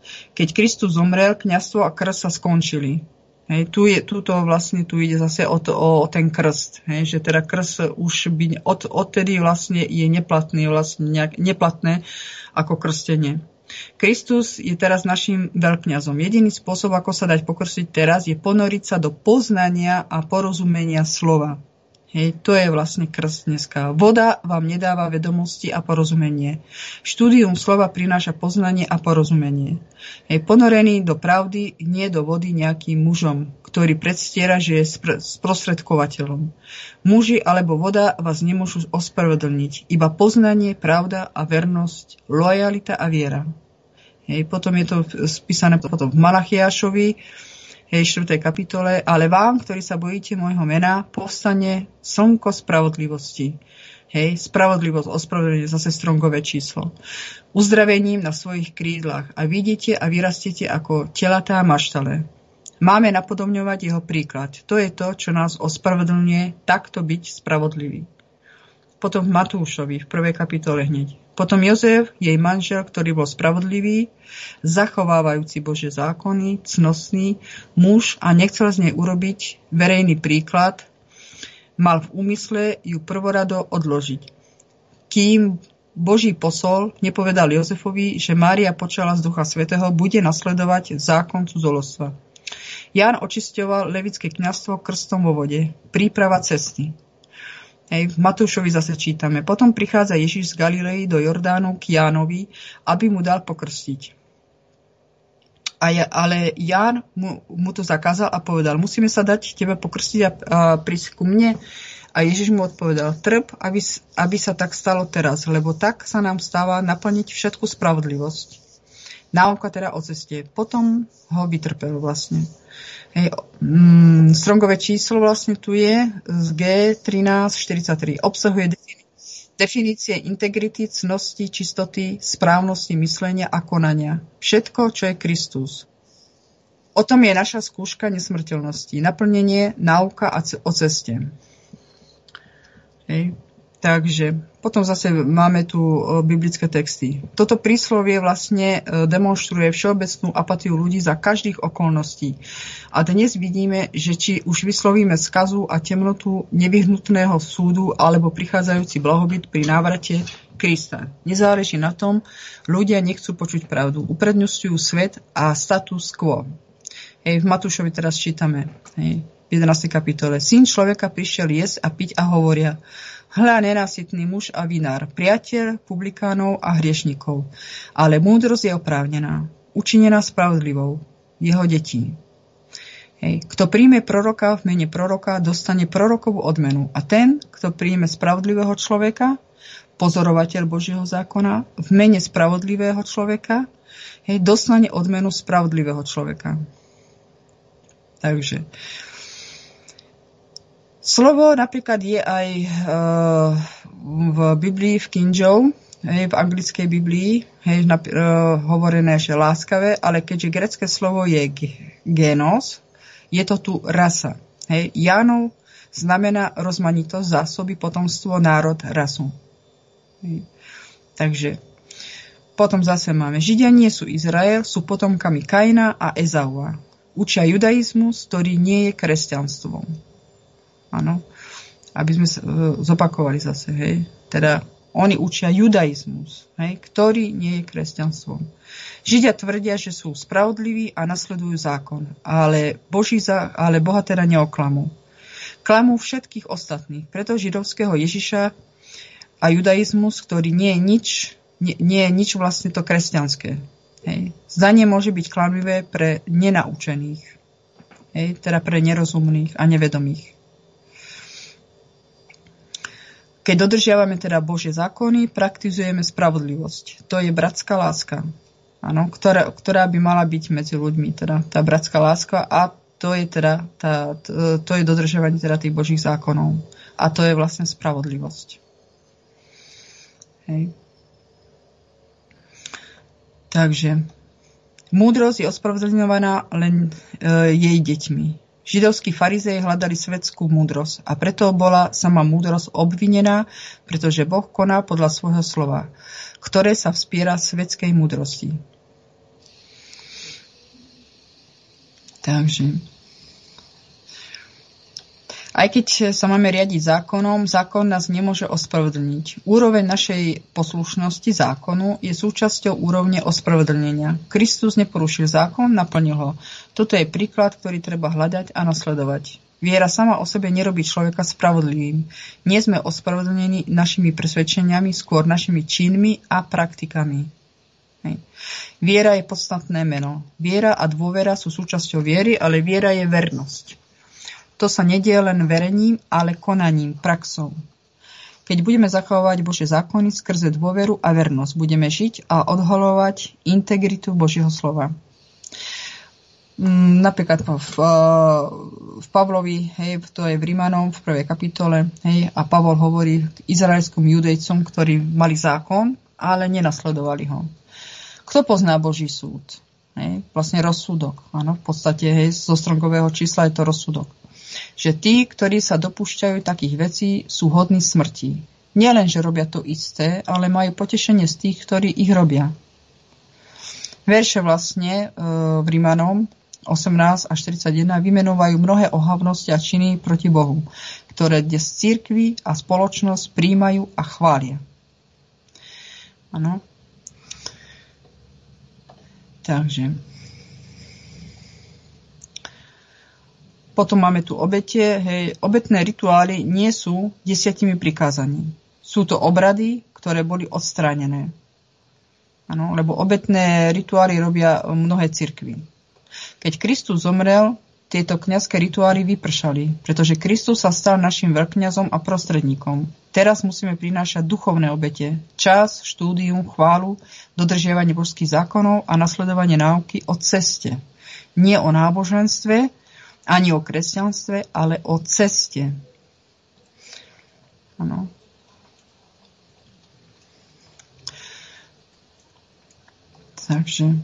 Keď Kristus zomrel, kňazstvo a krst sa skončili. Hej, tu ide zase o ten krst. Hej, že teda krst už by odtedy vlastne je neplatný, neplatné ako krstenie. Kristus je teraz našim veľkňazom. Jediný spôsob, ako sa dať pokrstiť teraz, je ponoriť sa do poznania a porozumenia slova. Hej, to je vlastne krst dneska. Voda vám nedáva vedomosti a porozumenie. Štúdium slova prináša poznanie a porozumenie. Hej, ponorený do pravdy, nie do vody nejakým mužom, ktorý predstiera, že je sprostredkovateľom. Muži alebo voda vás nemôžu ospravedlniť. Iba poznanie, pravda a vernosť, lojalita a viera. Hej, potom je to spísané potom v Malachiášovi, 4. kapitole, ale vám, ktorí sa bojíte môjho mena, povstane slnko spravodlivosti. Hej, spravodlivosť, ospravedlenie, zase strongové číslo. Uzdravením na svojich krídlach a vidíte a vyrastiete ako telatá maštale. Máme napodobňovať jeho príklad. To je to, čo nás ospravedlňuje, takto byť spravodlivý. Potom v Matúšovi, v 1. kapitole hneď. Potom Jozef, jej manžel, ktorý bol spravodlivý, zachovávajúci Božie zákony, cnostný muž a nechcel z nej urobiť verejný príklad, mal v úmysle ju prvorado odložiť. Kým Boží posol nepovedal Jozefovi, že Mária počala z Ducha Svätého, bude nasledovať zákon cudzoložstva. Ján očisťoval levické kňazstvo krstom vo vode, príprava cesty. Hej, v Matúšovi zase čítame. Potom prichádza Ježiš z Galilei do Jordánu k Jánovi, aby mu dal pokrstiť. Ale Ján mu to zakázal a povedal, musíme sa dať tebe pokrstiť a prísť ku mne. A Ježiš mu odpovedal, trp, aby sa tak stalo teraz, lebo tak sa nám stáva naplniť všetku spravodlivosť. Náuka teda o ceste. Potom ho vytrpel vlastne. Hej, strongové číslo vlastne tu je z G1343. Obsahuje definície integrity, cnosti, čistoty, správnosti myslenia a konania. Všetko, čo je Kristus. O tom je naša skúška nesmrteľnosti. Naplnenie, náuka o ceste. Hej. Takže potom zase máme tu biblické texty. Toto príslovie vlastne demonstruje všeobecnú apatiu ľudí za každých okolností. A dnes vidíme, že či už vyslovíme skazu a temnotu nevyhnutného súdu alebo prichádzajúci blahobyt pri návrate Krista. Nezáleží na tom, ľudia nechcú počuť pravdu. Uprednostňujú svet a status quo. Hej, v Matúšovi teraz čítame, hej, v 11. kapitole. Syn človeka prišiel jesť a piť a hovoria, hľa nenásytný muž a vinár, priateľ publikánov a hriešnikov. Ale múdrosť je oprávnená, učinená spravodlivou, jeho detí. Hej. Kto príjme proroka v mene proroka, dostane prorokovú odmenu. A ten, kto príjme spravodlivého človeka, pozorovateľ Božieho zákona, v mene spravodlivého človeka, hej, dostane odmenu spravodlivého človeka. Takže slovo napríklad je aj v Biblii, v King James, v anglickej Biblii, hovorené, že láskavé, ale keďže grécke slovo je genos, je to tu rasa. Hej. Jánov znamená rozmanitosť, zásoby, potomstvo, národ, rasu. Hej. Takže potom zase máme Židia nie sú Izrael, sú potomkami Kaina a Ezaua. Učia judaizmus, ktorý nie je kresťanstvom. Áno, aby sme zopakovali zase, hej. Teda oni učia judaizmus, hej, ktorý nie je kresťanstvom. Židia tvrdia, že sú spravodliví a nasledujú zákon, ale Boha teda neoklamú. Klamú všetkých ostatných, preto židovského Ježiša a judaizmus, ktorý nie je nič vlastne to kresťanské. Hej. Zdanie môže byť klamlivé pre nenaučených, hej, teda pre nerozumných a nevedomých. Keď dodržiavame teda Božie zákony, praktizujeme spravodlivosť. To je bratská láska, áno, ktorá by mala byť medzi ľuďmi, teda tá bratská láska, a to je teda to je dodržiavanie teda tých Božích zákonov. A to je vlastne spravodlivosť. Hej. Takže múdrosť je ospravedlňovaná len jej deťmi. Židovskí farizei hľadali svetskú múdrosť a preto bola sama múdrosť obvinená, pretože Boh koná podľa svojho slova, ktoré sa vspiera svetskej múdrosti. Takže aj keď sa máme riadiť zákonom, zákon nás nemôže ospravedlniť. Úroveň našej poslušnosti zákonu je súčasťou úrovne ospravedlnenia. Kristus neporušil zákon, naplnil ho. Toto je príklad, ktorý treba hľadať a nasledovať. Viera sama o sebe nerobí človeka spravodlivým. Nie sme ospravedlnení našimi presvedčeniami, skôr našimi činmi a praktikami. Hej. Viera je podstatné meno. Viera a dôvera sú súčasťou viery, ale viera je vernosť. To sa nedieje len verením, ale konaním, praxou. Keď budeme zachovávať Božie zákony skrze dôveru a vernosť, budeme žiť a odhaľovať integritu Božieho slova. Napríklad v Pavlovi, hej, to je v Rímanom v 1. kapitole, hej, a Pavol hovorí izraelskom judejcom, ktorí mali zákon, ale nenasledovali ho. Kto pozná Boží súd? Hej, vlastne rozsudok. Áno, v podstate, hej, zo Strongového čísla je to rozsudok. Že tí, ktorí sa dopúšťajú takých vecí, sú hodní smrti. Nielen, že robia to isté, ale majú potešenie z tých, ktorí ich robia. Verše vlastne v Rímanom 18 až 41 vymenovajú mnohé ohavnosti a činy proti Bohu, ktoré dnes cirkvi a spoločnosť príjmajú a chvália. Áno. Takže potom máme tu obete. Hej, obetné rituály nie sú 10 prikázaní. Sú to obrady, ktoré boli odstránené. Áno, lebo obetné rituály robia mnohé cirkvi. Keď Kristus zomrel, tieto kňazské rituály vypršali, pretože Kristus sa stal našim veľkňazom a prostredníkom. Teraz musíme prinášať duchovné obete, čas, štúdium, chválu, dodržiavanie božských zákonov a nasledovanie náuky o ceste. Nie o náboženstve, ani o kresťanstve, ale o ceste. Áno. Takže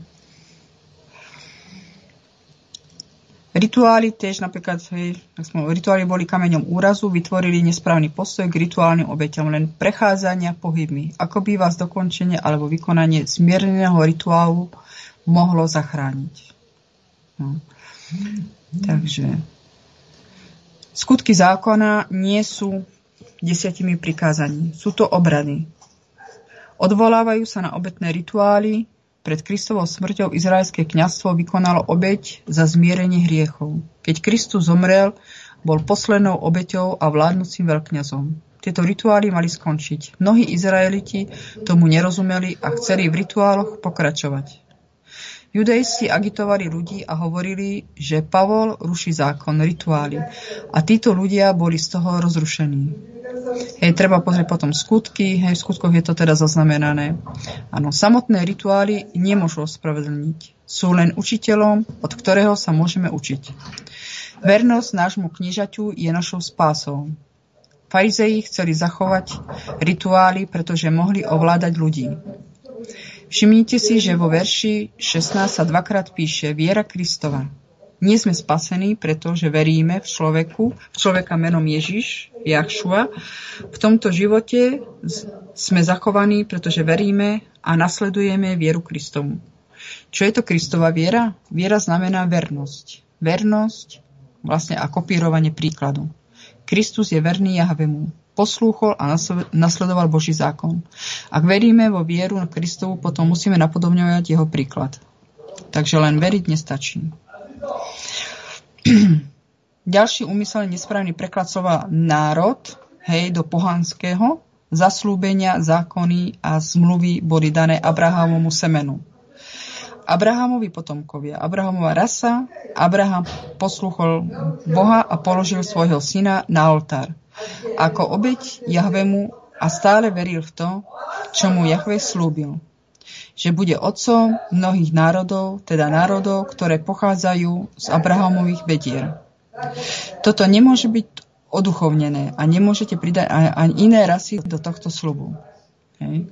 rituály tiež napríklad, rituály boli kameňom úrazu, vytvorili nesprávny postoj k rituálnym obeťam, len prechádzania pohybmi. Ako by vás dokončenie alebo vykonanie zmierneného rituálu mohlo zachrániť. No. Takže skutky zákona nie sú 10 prikázaní. Sú to obrady. Odvolávajú sa na obetné rituály. Pred Kristovou smrťou izraelské kňazstvo vykonalo obeť za zmierenie hriechov. Keď Kristus zomrel, bol poslednou obeťou a vládnúcim veľkňazom. Tieto rituály mali skončiť. Mnohí Izraeliti tomu nerozumeli a chceli v rituáloch pokračovať. Judejsi agitovali ľudí a hovorili, že Pavol ruší zákon, rituály. A títo ľudia boli z toho rozrušení. Hej, treba pozrieť potom skutky, hej, v skutkoch je to teda zaznamenané. Áno, samotné rituály nemôžu ospravedlniť. Sú len učiteľom, od ktorého sa môžeme učiť. Vernosť nášmu kniežaťu je našou spásou. Farizei chceli zachovať rituály, pretože mohli ovládať ľudí. Všimnite si, že vo verši 16 sa dvakrát píše viera Kristova. Nie sme spasení, pretože veríme v človeka menom Ježiš, Jahšua. V tomto živote sme zachovaní, pretože veríme a nasledujeme vieru Kristovu. Čo je to Kristova viera? Viera znamená vernosť. Vernosť vlastne a kopírovanie príkladu. Kristus je verný Jahvemu. Poslúchol a nasledoval Boží zákon. Ak veríme vo vieru na Kristovu, potom musíme napodobňovať jeho príklad. Takže len veriť nestačí. Ďalší úmyselne nesprávny preklad slova národ, hej, do pohanského, zaslúbenia, zákony a zmluvy boli dané Abrahamovu semenu. Abrahamovi potomkovia, Abrahamova rasa, Abraham poslúchol Boha a položil svojho syna na oltár. Ako obeť Jahvemu a stále veril v to, čo mu Jahve slúbil. Že bude otcom mnohých národov, teda národov, ktoré pochádzajú z Abrahamových bedier. Toto nemôže byť oduchovnené a nemôžete pridať ani iné rasy do tohto sľubu. Hej.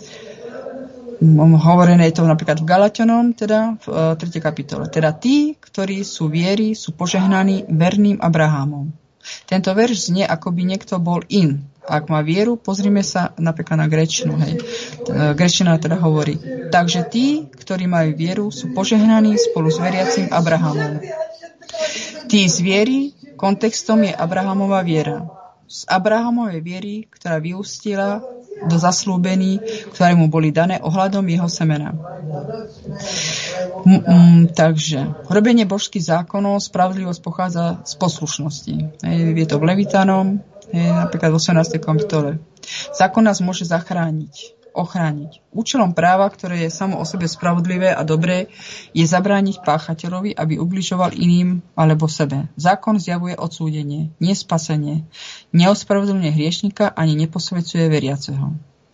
Hovorené je to napríklad v Galatianom, teda v 3. kapitole. Teda tí, ktorí sú viery, sú požehnaní verným Abrahamom. Tento verš znie, ako by niekto bol in. Ak má vieru, pozrime sa napríklad na gréčtinu. Gréčtina teda hovorí. Takže tí, ktorí majú vieru, sú požehnaní spolu s veriacim Abrahamom. Tí z viery kontextom je Abrahamova viera. Z Abrahamovej viery, ktorá vyústila do zaslúbení, ktoré mu boli dané ohľadom jeho semena. Takže robenie božských zákonov, spravodlivosť pochádza z poslušnosti. Je to v Levitánom, napríklad v 18. kapitole. Zákon nás môže ochrániť. Účelom práva, ktoré je samo o sebe spravodlivé a dobré, je zabrániť páchateľovi, aby ubližoval iným alebo sebe. Zákon zjavuje odsúdenie, nie spasenie. Neospravedlňuje hriešnika ani neposvedcuje veriaceho.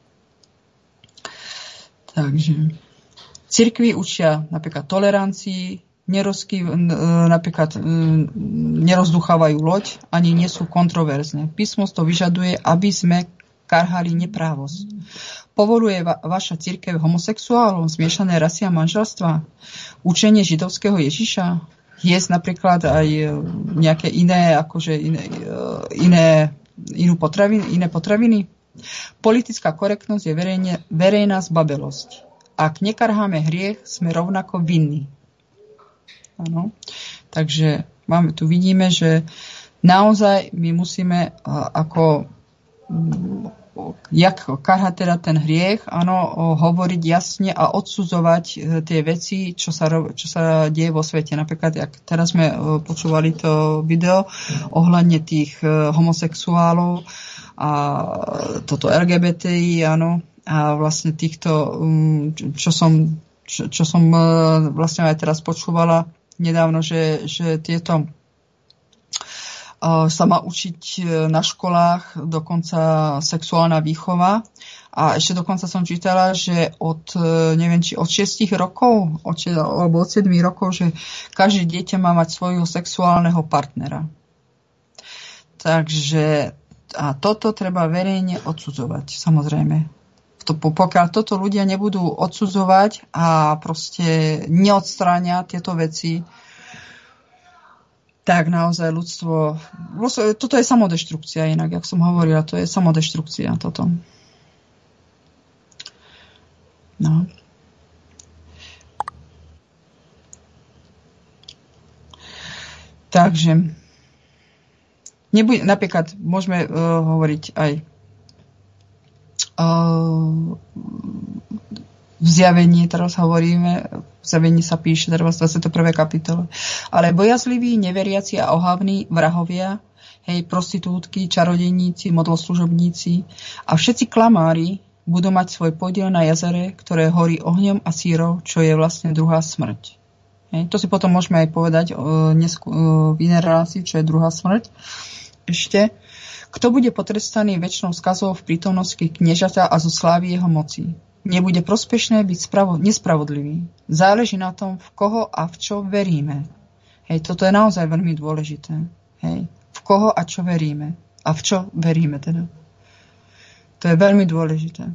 Takže cirkvi učia napríklad tolerancii, napríklad nerozduchávajú loď, ani nie sú kontroverzne. Písmo to vyžaduje, aby sme karhali neprávosť. Povoluje vaša cirkev homosexuálom, zmiešané rasy a manželstva? Učenie židovského Ježiša? Jesť napríklad aj nejaké iné, iné potraviny? Politická korektnosť je verejná zbabelosť. Ak nekarháme hriech, sme rovnako vinní. Ano. Takže tu vidíme, že naozaj my musíme jak karhať teda ten hriech, hovoriť jasne a odsudzovať tie veci, čo sa deje vo svete. Napríklad, jak teraz sme počúvali to video ohľadne tých homosexuálov a toto LGBTI, áno, a vlastne týchto, čo som vlastne aj teraz počúvala nedávno, že tieto sa má učiť na školách dokonca sexuálna výchova. A ešte dokonca som čítala, že od 6 rokov, alebo od 7 rokov, že každé dieťa má mať svojho sexuálneho partnera. Takže a toto treba verejne odsudzovať, samozrejme. Pokiaľ toto ľudia nebudú odsudzovať a proste neodstránia tieto veci, tak naozaj ľudstvo... Toto je samodeštrukcia inak, jak som hovorila, to je samodeštrukcia toto. No. Takže napríklad môžeme hovoriť aj v Zjavení, teraz hovoríme, v Zjavení sa píše, teraz v 21. kapitole. Ale bojazliví, neveriaci a ohavní vrahovia, prostitútky, čarodejníci, modloslužobníci a všetci klamári budú mať svoj podiel na jazere, ktoré horí ohňom a sírou, čo je vlastne druhá smrť. To si potom môžeme aj povedať v inej relácii, čo je druhá smrť. Ešte. Kto bude potrestaný večnou skazou v prítomnosti kniežaťa a zo slávy jeho moci? Nebude prospešné byť nespravodlivý. Záleží na tom, v koho a v čo veríme. Toto je naozaj veľmi dôležité. V koho a čo veríme. A v čo veríme teda. To je veľmi dôležité.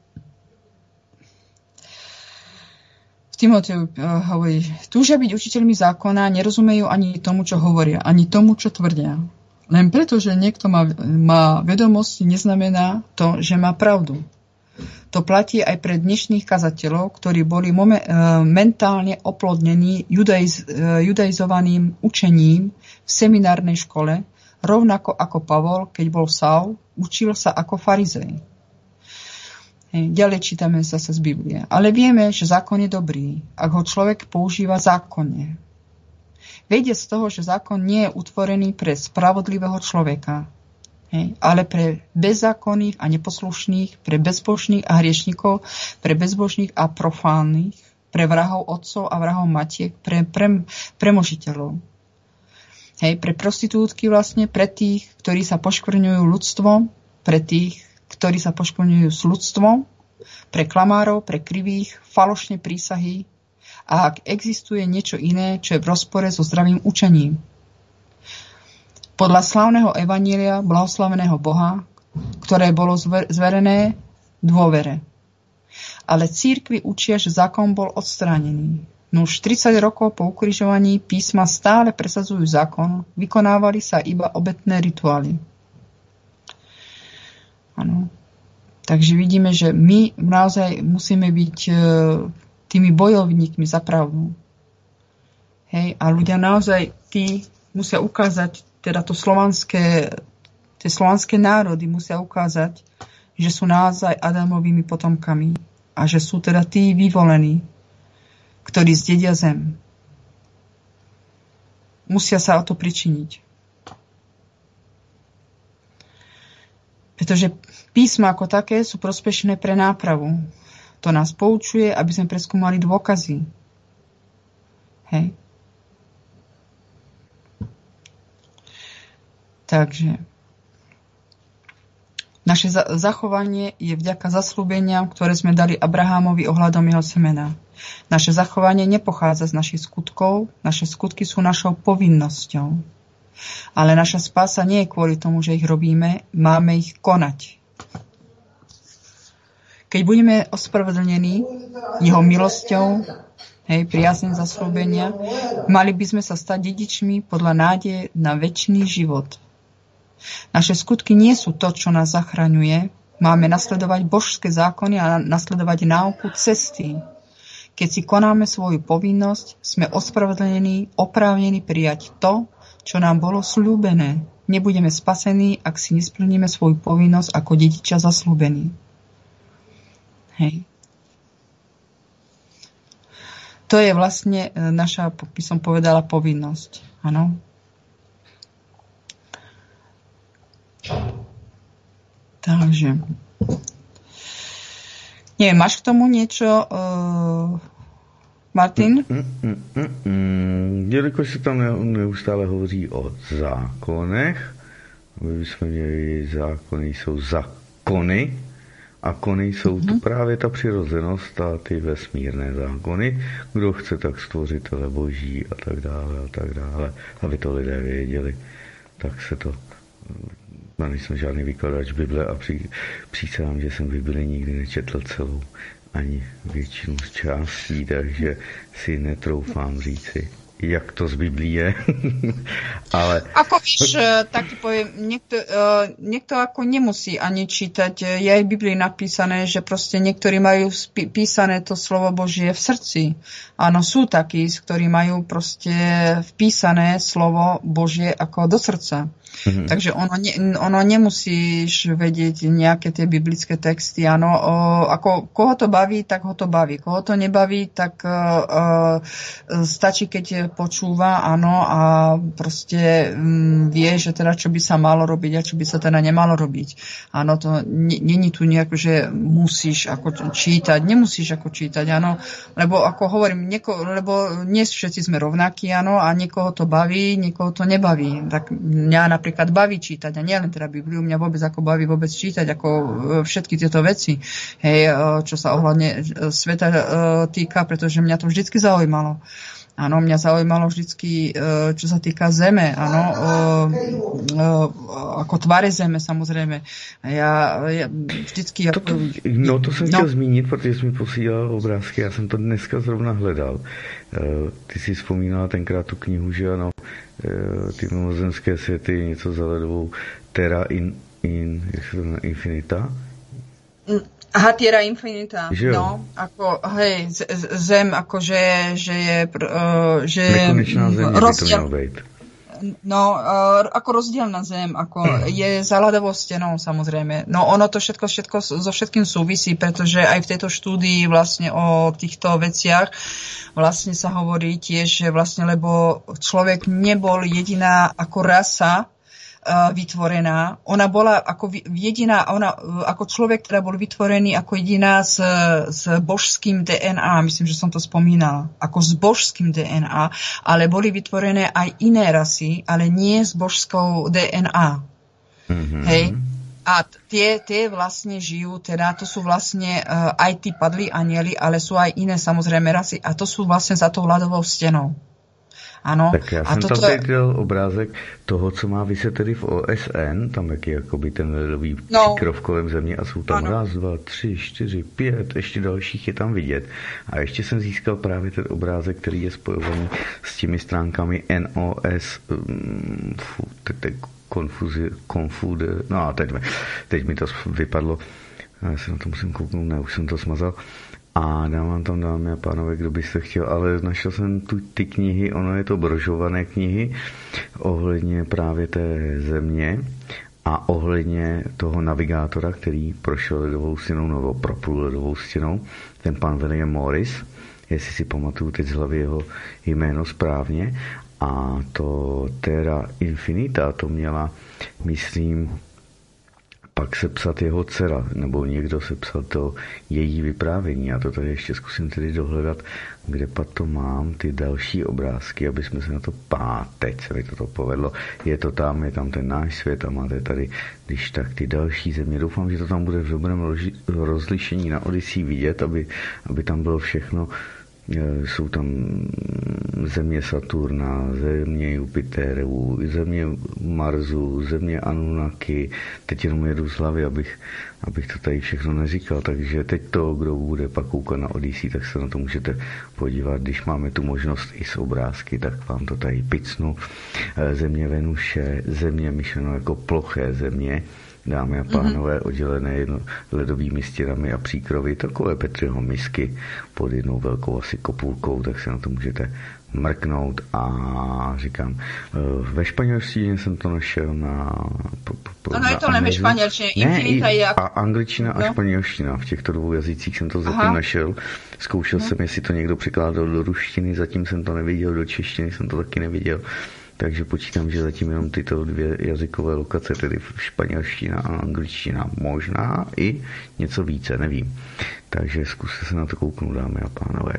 V Timoteju hovorí, túžia byť učiteľmi zákona, nerozumejú ani tomu, čo hovoria, ani tomu, čo tvrdia. Len preto, že niekto má vedomosti, neznamená to, že má pravdu. To platí aj pre dnešných kazateľov, ktorí boli mentálne oplodnení judaizovaným učením v seminárnej škole, rovnako ako Pavol, keď bol Saul, učil sa ako farizej. Ďalej čítame zase z Biblie. Ale vieme, že zákon je dobrý, ak ho človek používa zákonne. Vedie z toho, že zákon nie je utvorený pre spravodlivého človeka, ale pre bezzákonných a neposlušných, pre bezbožných a hriešnikov, pre bezbožných a profánnych, pre vrahov otcov a vrahov matiek, pre premožiteľov. Pre prostitútky vlastne, pre tých, ktorí sa poškvrňujú ľudstvom, pre tých, ktorí sa poškvrňujú s ľudstvom, pre klamárov, pre krivých, falošné prísahy, a ak existuje niečo iné, čo je v rozpore so zdravým učením. Podľa slávneho evanília blahoslaveného Boha, ktoré bolo zverené dôvere. Ale cirkvi učia, že zákon bol odstránený. No už 30 rokov po ukrižovaní písma stále presadzujú zákon, vykonávali sa iba obetné rituály. Áno. Takže vidíme, že my naozaj musíme byť tými bojovníkmi za pravdu. A ľudia naozaj, tí, musia ukázať, teda tie slovanské národy musia ukázať, že sú naozaj Adamovými potomkami a že sú teda tí vyvolení, ktorí zdedia zem. Musia sa o to pričiniť. Pretože písma ako také sú prospešné pre nápravu. To nás poučuje, aby sme preskúmali dôkazy. Hej. Takže naše zachovanie je vďaka zasľúbeniam, ktoré sme dali Abrahámovi ohľadom jeho semena. Naše zachovanie nepochádza z našich skutkov, naše skutky sú našou povinnosťou. Ale naša spása nie je kvôli tomu, že ich robíme, máme ich konať. Keď budeme ospravedlnení jeho milosťou, priazným zasľúbenia, mali by sme sa stať dedičmi podľa nádeje na večný život. Naše skutky nie sú to, čo nás zachraňuje. Máme nasledovať božské zákony a nasledovať náuku cesty. Keď si konáme svoju povinnosť, sme ospravedlnení, oprávnení prijať to, čo nám bolo sľúbené. Nebudeme spasení, ak si nesplníme svoju povinnosť ako dedičia zasľúbení. Hej. To je vlastne naša, by som povedala, povinnosť. Áno. Takže neviem, máš k tomu niečo, Martin? Jelikož se tam neustále hovoří o zákonech, my bychom měli zákony, jsou zákony, a kony jsou to právě ta přirozenost a ty vesmírné zákony. Kdo chce, tak stvořitele boží a tak dále, aby to lidé věděli, tak se to... Já nejsem žádný vykladač Bible a přísahám, že jsem Bibli nikdy nečetl celou, ani většinu z částí, takže si netroufám říci, jak to z Biblí je. Ale... Ako víš, tak ti poviem, niekto ako nemusí ani čítať. Je aj v Biblii napísané, že proste niektorí majú písané to slovo Božie v srdci. Áno, sú takí, ktorí majú proste vpísané slovo Božie ako do srdca. Takže ono nemusíš vedieť nejaké tie biblické texty. Áno, ako koho to baví, tak ho to baví. Koho to nebaví, tak stačí, keď počúva, áno, a proste vie, že teda čo by sa malo robiť a čo by sa teda nemalo robiť. Áno, to není tu nejako, že musíš ako čítať, nemusíš ako čítať, áno, lebo ako hovorím, lebo nie všetci sme rovnakí, áno, a niekoho to baví, niekoho to nebaví. Tak mňa napríklad baví čítať, a nie len teda Bibliu, mňa vôbec ako baví vôbec čítať, ako všetky tieto veci, hej, čo sa ohľadne sveta týka, pretože mňa to vždycky zaujímalo. Áno, mňa zaujímalo vždycky, čo sa týka zeme, áno, ako tvare zeme, samozrejme. Ja vždycky... To jsem chtěl zmínit, protože jsi mi posílal obrázky, já jsem to dneska zrovna hledal. Ty si vzpomínala tenkrát tu knihu, že ano, ty mimozemské světy, něco za ledovou Terra jak se to jmenuje, Infinita? Aha, Terra Infinita, no, ako, hej, zem, ako, že je nekonečná zem, rozdiel, no, ako rozdielna zem, ako je za ľadovou stenou, samozrejme. No, ono to všetko so všetkým súvisí, pretože aj v tejto štúdii vlastne o týchto veciach vlastne sa hovorí tiež, že vlastne, lebo človek nebol jediná ako rasa vytvorená. Ona bola ako jediná, ona ako človek, ktorá bol vytvorený ako jediná s božským DNA, myslím, že som to spomínala, ako s božským DNA, ale boli vytvorené aj iné rasy, ale nie s božskou DNA. Mm-hmm. Hej? A tie vlastne žijú, teda to sú vlastne aj tí padlí anjeli, ale sú aj iné samozrejme rasy a to sú vlastne za tou ľadovou stenou. Ano. Tak já jsem tam teď dal obrázek toho, co má vyset tedy v OSN, tam jak je jakoby ten ledový příkrov kolem země a jsou tam 1, 2, 3, 4, 5, ještě dalších je tam vidět. A ještě jsem získal právě ten obrázek, který je spojovaný s těmi stránkami NOS, konfuze, no a teď mi to vypadlo, já se na to musím kouknout, ne, už jsem to smazal. A dám vám tam, dámy a pánové, kdo byste chtěl, ale našel jsem ty knihy, ono je to brožované knihy ohledně právě té země a ohledně toho navigátora, který prošel ledovou stěnou nebo proplul ledovou stěnou, ten pan William Morris, jestli si pamatuju teď z hlavy jeho jméno správně, a to Terra Infinita, to měla, myslím, pak sepsat jeho dcera, nebo někdo sepsal to její vyprávění. Já to tady ještě zkusím tedy dohledat, kde pak to mám, ty další obrázky, aby jsme se na to teď se mi to povedlo. Je tam ten náš svět a máte tady, když tak ty další země. Doufám, že to tam bude v dobrém rozlišení na Odyssey vidět, aby tam bylo všechno. Jsou tam země Saturna, země Jupiteru, země Marsu, země Anunnaki. Teď jenom jedu z hlavy, abych to tady všechno neříkal. Takže teď to, kdo bude pak koukat na Odyssey, tak se na to můžete podívat. Když máme tu možnost i s obrázky, tak vám to tady picnu. Země Venuše, země myšleno jako ploché země, dámy a pánové, oddělené ledovými stěnami a příkrovy, takové Petriho misky pod jednou velkou asi kopulkou, tak se na to můžete mrknout. A říkám, ve španělštině jsem to našel na... Ano, je to ne ve španělštině, Infinita je jako... A angličtina a španělština, v těchto dvou jazycích jsem to zatím našel. Zkoušel jsem, jestli to někdo překládal do ruštiny, zatím jsem to neviděl, do češtiny jsem to taky neviděl. Takže počítám, že zatím jenom tyto dvě jazykové lokace, tedy španělština a angličtina, možná i něco více, nevím. Takže zkuste se na to kouknout, dámy a pánové.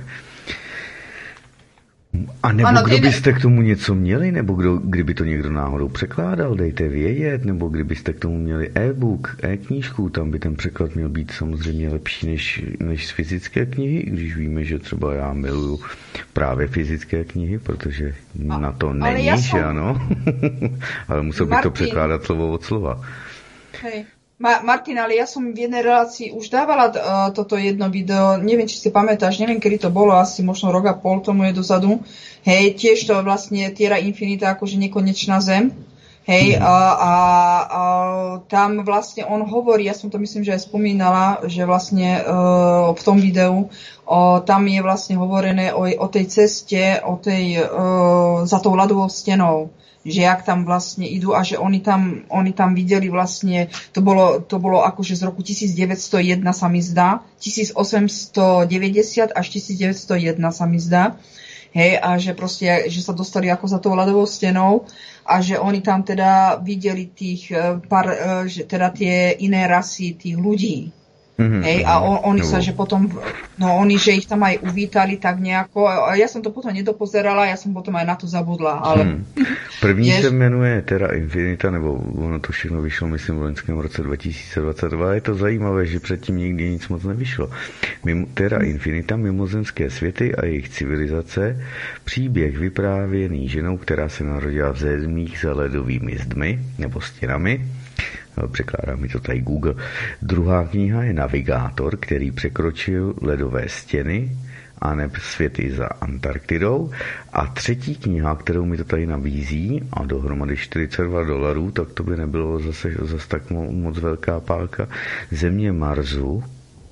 A nebo kdo byste k tomu něco měli, nebo kdyby to někdo náhodou překládal, dejte vědět, nebo kdybyste k tomu měli e-book, e-knížku, tam by ten překlad měl být samozřejmě lepší než z fyzické knihy, i když víme, že třeba já miluju právě fyzické knihy, protože na to není, že ano? Ale musel bych to překládat slovo od slova. Hej. Martin, ale ja som v jednej relácii už dávala toto jedno video, neviem, či si pamätáš, neviem, kedy to bolo, asi možno rok a pol tomu je dozadu. Hej, tiež to vlastne Terra Infinita, akože nekonečná zem. Hej, a tam vlastne on hovorí, ja som to myslím, že aj spomínala, že vlastne v tom videu, tam je vlastne hovorené o tej ceste, za tou ľadovou stenou, že jak tam vlastne idú a že oni tam videli vlastne, to bolo akože z roku 1901 sa mi zdá, 1890 až 1901 sa mi zdá, hej, a že proste, že sa dostali ako za tou ľadovou stenou a že oni tam teda videli že teda tie iné rasy tých ľudí. Hej, a oni sa, že potom, oni, že ich tam aj uvítali tak nejako, a ja som to potom nedopozerala, ja som potom aj na to zabudla, ale... První se jmenuje Terra Infinita, nebo ono to všechno vyšlo, myslím, v loňském roce 2022, je to zajímavé, že předtím nikdy nic moc nevyšlo. Terra Infinita, mimozemské světy a jejich civilizace, příběh vyprávěný ženou, která se narodila v zemích za ledovými zdmi, nebo stěnami. Překládá mi to tady Google. Druhá kniha je Navigátor, který překročil ledové stěny a neb světy za Antarktidou. A třetí kniha, kterou mi to tady nabízí, a dohromady $42, tak to by nebylo zase tak moc velká pálka, Země Marsu,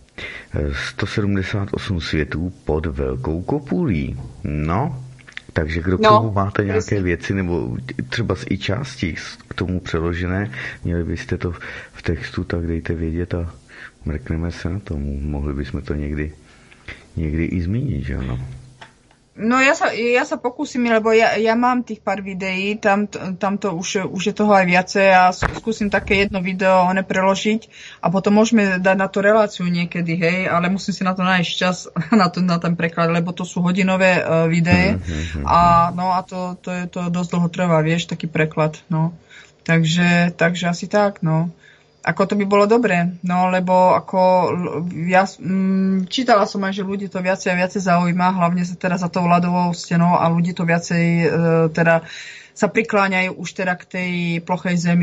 178 světů pod velkou kopulí. No, takže kdo k tomu máte nějaké věci, nebo třeba i části k tomu přeložené, měli byste to v textu, tak dejte vědět a mrkneme se na tomu. Mohli bychom to někdy i zmínit, že ano? No ja sa pokúsim, lebo ja mám tých pár videí, tam to už je toho aj viacej a skúsim také jedno video preložiť a potom môžeme dať na to reláciu niekedy, hej, ale musím si na to nájsť čas na ten preklad, lebo to sú hodinové videé a to dosť dlho trvá, vieš, taký preklad, no. Takže asi tak, no. Ako to by bolo dobré, no lebo ako ja čítala som aj, že ľudí to viacej a viacej zaujíma, hlavne sa teda za tou ľadovou stenou a ľudí to viacej teda sa prikláňajú už teda k tej plochej zemi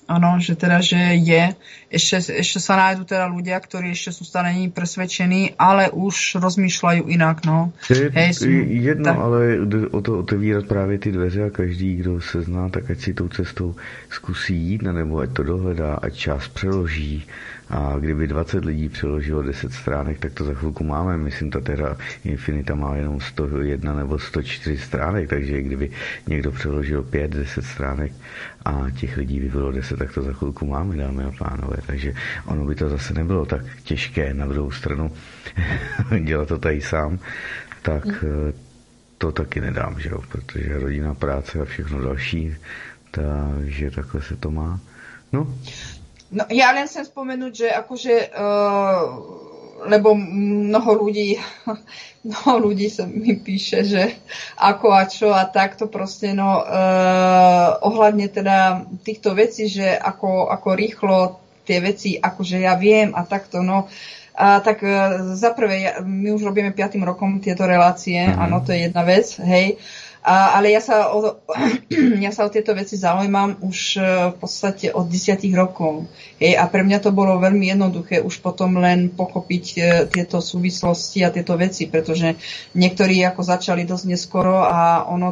Áno, že teda, že je. Ešte sa nájdú teda ľudia, ktorí ešte sú stále presvedčení, ale už rozmýšľajú inak, no. Jedno, tak. Ale o to otevírat právě ty dveře a každý, kdo se zná, tak ať si tou cestou zkusí jít, nebo ať to dohledá, ať čas přeloží. A kdyby 20 lidí přeložilo 10 stránek, tak to za chvilku máme. Myslím, ta teda Infinita má jenom 101 nebo 104 stránek, takže kdyby někdo přeložil 5-10 stránek a těch lidí by bylo 10, tak to za chvilku máme, dámy a pánové. Takže ono by to zase nebylo tak těžké. Na druhou stranu dělat to tady sám, tak to taky nedám, že jo? Protože rodina, práce a všechno další, takže takhle se to má. No, ja len chcem spomenúť, že akože, lebo mnoho ľudí sa mi píše, že ako a čo a takto proste, ohľadne teda týchto vecí, že ako rýchlo tie veci, akože ja viem a takto, tak za prvé, my už robíme 5. rokom tieto relácie, áno, to je jedna vec, hej. Ale ja sa o tieto veci zaujímam už v podstate od 10 rokov. A pre mňa to bolo veľmi jednoduché už potom len pochopiť tieto súvislosti a tieto veci, pretože niektorí ako začali dosť neskoro a ono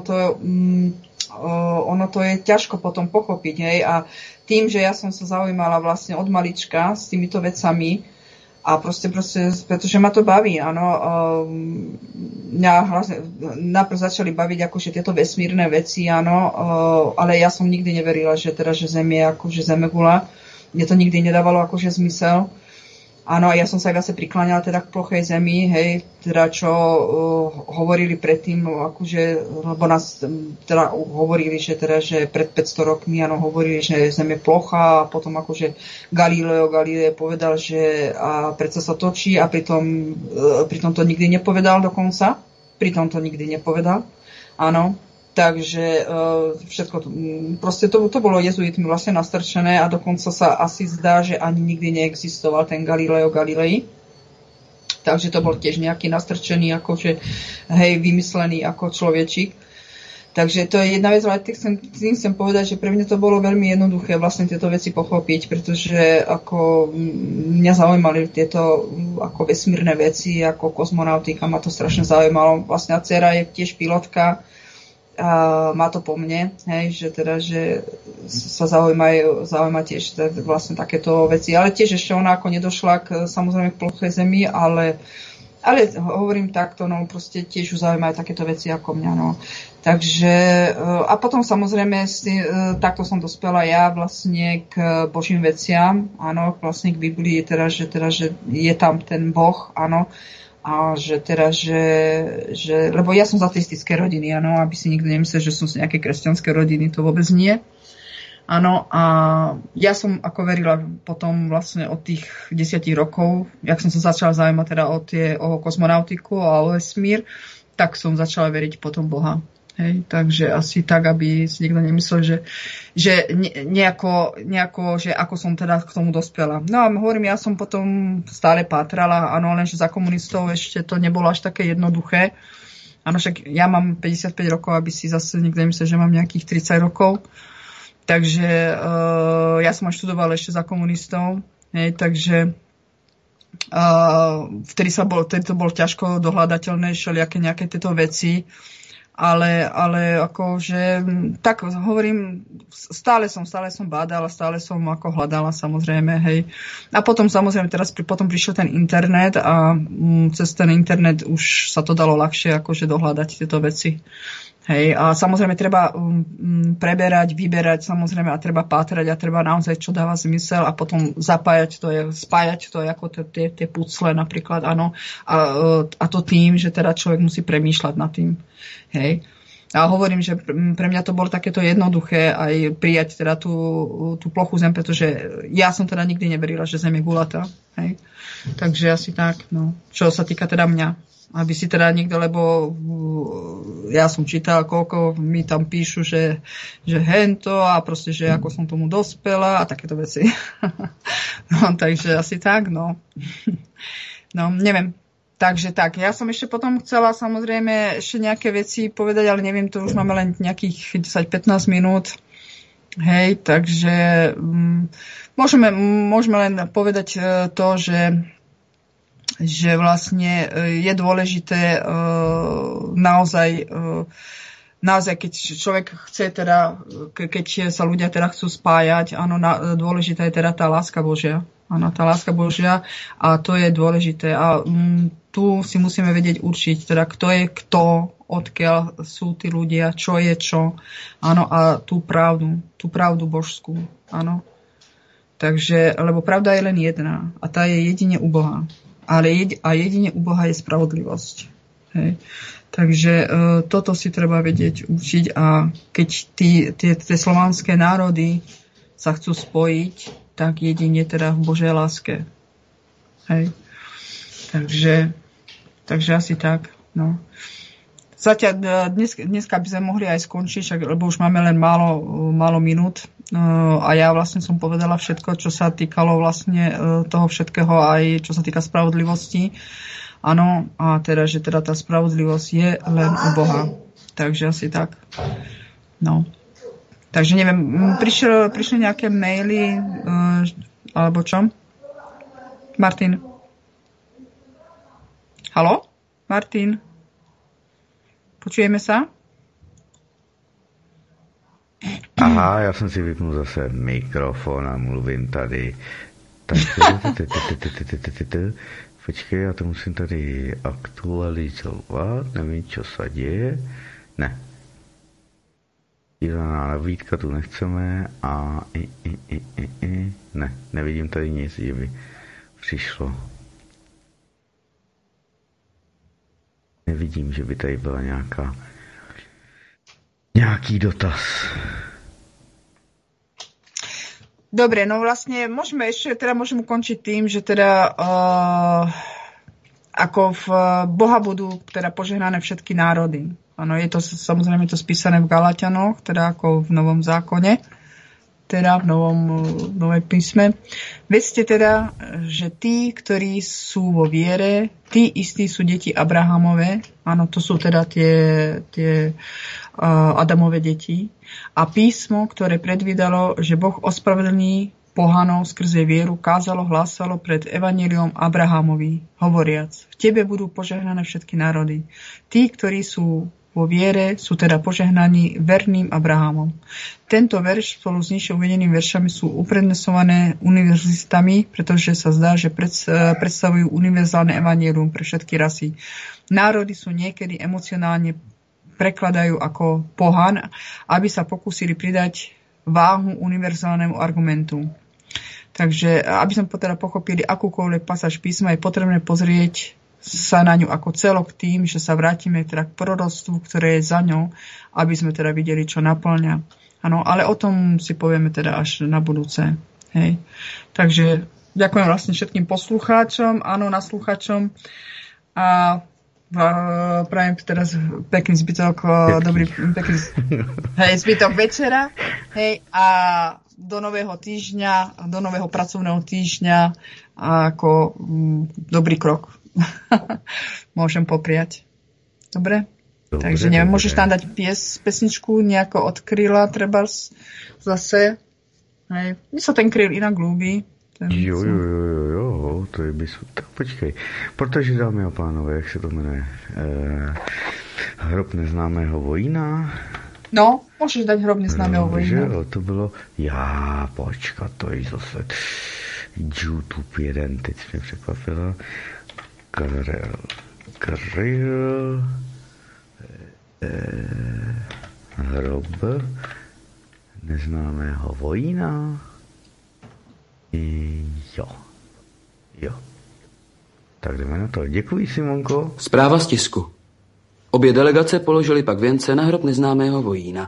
to je ťažko potom pochopiť. A tým, že ja som sa zaujímala vlastne od malička s týmito vecami, a proste, pretože ma to baví, áno. Mňa najprv začali baviť akože tieto vesmírne veci, áno, ale ja som nikdy neverila, že Zem je akože zemegula. Mne to nikdy nedávalo akože zmysel. Áno, ja som sa aj zase prikláňala teda k plochej Zemi, hej, teda čo hovorili predtým, akože, lebo nás teda hovorili, že pred 500 rokmi, áno, hovorili, že Zem je plochá a potom akože Galileo povedal, že a predsa sa točí a pritom to nikdy nepovedal dokonca. Pritom to nikdy nepovedal, áno. Takže všetko proste to bolo jezuitmi vlastne nastrčené a dokonca sa asi zdá, že ani nikdy neexistoval ten Galileo Galilei. Takže to bol tiež nejaký nastrčený, akože, vymyslený ako človečík. Takže to je jedna vec, ale tým chcem povedať, že pre mňa to bolo veľmi jednoduché vlastne tieto veci pochopiť, pretože ako mňa zaujímali tieto ako vesmírne veci, ako kozmonautika, ma to strašne zaujímalo. Vlastne dcera je tiež pilotka, a má to po mne, že sa zaujíma tiež vlastne takéto veci. Ale tiež ešte ona ako nedošla samozrejme k plochej Zemi, ale hovorím takto, proste tiež ju zaujímajú takéto veci ako mňa, Takže, a potom samozrejme takto som dospela ja vlastne k Božím veciam, áno, vlastne k Biblii, že je tam ten Boh, áno, a že lebo ja som z ateistické rodiny, áno, aby si nikto nemyslel, že som z nejaké kresťanské rodiny, to vôbec nie. Áno, a ja som ako verila potom vlastne od tých 10 rokov, jak som sa začala zaujímať teda o kozmonautiku a o vesmír, tak som začala veriť potom Boha. Hej, takže asi tak, aby si nikto nemyslel, že nejako, že ako som teda k tomu dospela. No a hovorím, ja som potom stále pátrala, áno, lenže za komunistov ešte to nebolo až také jednoduché. Áno, však ja mám 55 rokov, aby si zase nikto nemyslel, že mám nejakých 30 rokov. Takže ja som aj študovala ešte za komunistov, hej, takže vtedy to bolo ťažko dohľadateľné, všelijaké nejaké tieto veci. Ale akože, tak hovorím, stále som bádala, stále som ako hľadala samozrejme, hej. A potom samozrejme teraz potom prišiel ten internet a cez ten internet už sa to dalo ľahšie akože dohľadať tieto veci. Hej, a samozrejme treba preberať, vyberať samozrejme a treba pátrať a treba naozaj čo dáva zmysel a potom spájať to ako tie pucle napríklad, áno. A to tým, že teda človek musí premýšľať nad tým. Hej. A hovorím, že pre mňa to bolo takéto jednoduché aj prijať teda tú plochu Zem, pretože ja som teda nikdy neverila, že Zem je gulatá. Hej. Takže asi tak, no. Čo sa týka teda mňa. Aby si teda niekto, lebo ja som čítal, koľko mi tam píšu, že hento a proste, že ako som tomu dospela a takéto veci. No, takže asi tak, no. No, neviem. Takže tak, ja som ešte potom chcela samozrejme ešte nejaké veci povedať, ale neviem, to už máme len nejakých 10-15 minút. Hej, takže môžeme len povedať to, že vlastne je dôležité naozaj, keď človek chce teda, keď sa ľudia teda chcú spájať, áno, dôležitá je teda tá láska Božia. Áno, tá láska Božia a to je dôležité. A tu si musíme vedieť určiť, teda kto je kto, odkiaľ sú tí ľudia, čo je čo. Áno, a tú pravdu božskú. Áno. Takže, lebo pravda je len jedna a tá je jedine u Boha. A jedine u Boha je spravodlivosť. Hej. Takže toto si treba vedieť učiť a keď tie slovanské národy sa chcú spojiť, tak jedine teda v Božej láske. Hej. Takže asi tak. No. Zatiaľ dneska by sme mohli aj skončiť, lebo už máme len málo minút a ja vlastne som povedala všetko, čo sa týkalo vlastne toho všetkého, aj čo sa týka spravodlivosti. Áno, a teda, že teda tá spravodlivosť je len u Boha. Takže asi tak. No. Takže neviem, prišli nejaké maily alebo čo? Martin? Haló? Martin? Počujeme sa? Aha, já jsem si vypnul zase mikrofon a mluvím tady. Počkej, já to musím tady aktualizovat, nevím, co se děje. Ne. Dívaná nabídka tu nechceme a ne, nevidím tady nic, že by přišlo. Nevidím, že by tady byla nějaký dotaz. Dobre, no vlastne môžeme ukončiť tým, že teda ako v Boha budú teda požehnané všetky národy. Áno, je to samozrejme to spísané v Galatianoch, teda ako v Novom zákone, teda v Novej písme. Vedzte teda, že tí, ktorí sú vo viere, tí istí sú deti Abrahamove, áno, to sú teda tie Adamove deti. A písmo, ktoré predvídalo, že Boh ospravedlní pohanov skrze vieru, kázalo, hlásalo pred evanjeliom Abrahamovi, hovoriac, v tebe budú požehnané všetky národy. Tí, ktorí sú vo viere, sú teda požehnaní verným Abrahamom. Tento verš spolu s nižšie uvedenými veršami sú uprednesované univerzitami, pretože sa zdá, že predstavujú univerzálne evanjelium pre všetky rasy. Národy sú niekedy emocionálne prekladajú ako pohan, aby sa pokúsili pridať váhu univerzálnemu argumentu. Takže, aby sme teda pochopili akúkoľvek pasáž písma, je potrebné pozrieť sa na ňu ako celok tým, že sa vrátime teda k proroctvu, ktoré je za ňou, aby sme teda videli, čo naplňa. Áno, ale o tom si povieme teda až na budúce. Hej. Takže ďakujem vlastne všetkým poslucháčom, áno, naslúchačom a prajem teraz pekný zbytok, zbytok večera, hej, a do nového týždňa, do nového pracovného týždňa ako dobrý krok. Môžem popriať. Dobre? Takže neviem, môžeš tam dať pesničku nejako od Kryla, treba zase. Hej. Mně se ten Kryl jinak ľúbi. Jo, to je tak počkej. Protože, dámy a pánové, jak se to jmenuje? Hrob neznámého vojína? No, můžeš dať Hrob neznámého vojína. Jo, to bylo, počkat, to je zase YouTube jeden, teď mě překvapila. Kryl, Hrob neznámého vojína. Jo. Tak jdeme na to. Děkuji, Simonko. Zpráva z tisku. Obě delegace položili pak věnce na hrob neznámého vojína.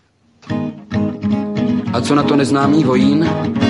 A co na to neznámý vojín?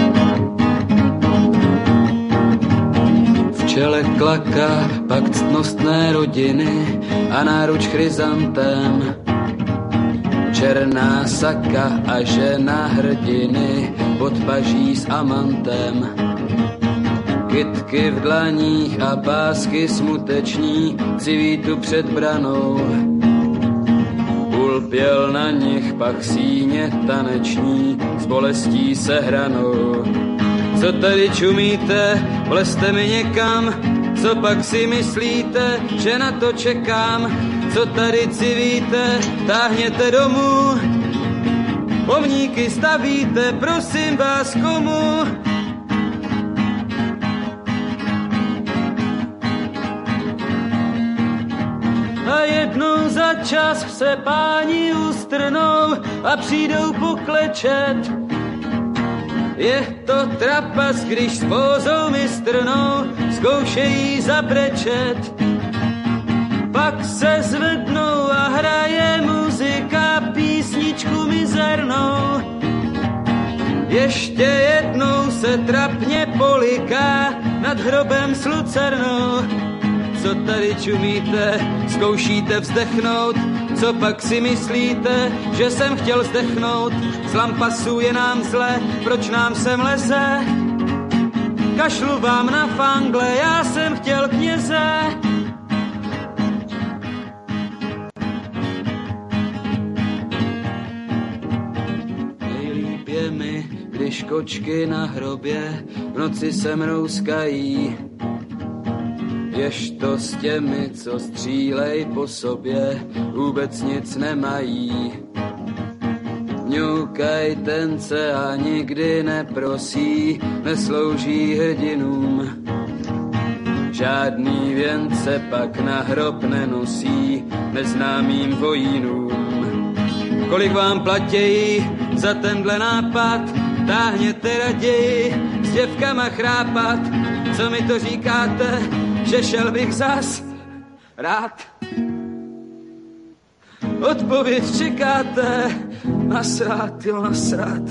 V čele klaka pak ctnostné rodiny a náruč chryzantem. Černá saka a žena hrdiny pod paží s amantem. Kytky v dlaních a pásky smuteční civí tu před branou. ulpěl na nich, pak síně taneční s bolestí sehranou. Co tady čumíte, vlezte mi někam, co pak si myslíte, že na to čekám? Co tady civíte, táhněte domů, pomníky stavíte, prosím vás komu? A jednou za čas se páni ustrnou a přijdou poklečet. Je to trapas, když s pózou mistrnou zkoušejí zabrečet. Pak se zvednou a hraje muzika písničku mizernou. Ještě jednou se trapně poliká nad hrobem s lucernou. Co tady čumíte, zkoušíte vzdechnout, co pak si myslíte, že jsem chtěl zdechnout? Z lampasu je nám zle, proč nám sem leze? Kašlu vám na fangle, já jsem chtěl kněze. Nejlíp je mi, když kočky na hrobě v noci se mrouskají. Ježto s těmi, co střílej po sobě, vůbec nic nemají. Mňoukaj tence a nikdy neprosí, neslouží hrdinům. Žádný věnce pak na hrob nenosí neznámým vojínům. Kolik vám platějí za tenhle nápad, táhněte raději s děvkama chrápat. Co mi to říkáte, že šel bych zas rád? Odpověď čekáte, nasrát, jo nasrát.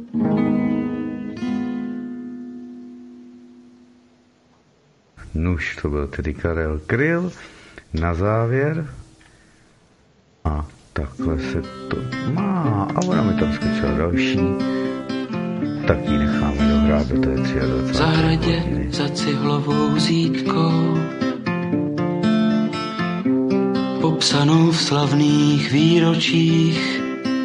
Nuž, to byl tedy Karel Kryl na závěr. A takhle se to má. A ona mi tam skočila další. Tak ji necháme dohrát do té 23. V zahradě za cihlovou zítkou, popsanou v slavných výročích,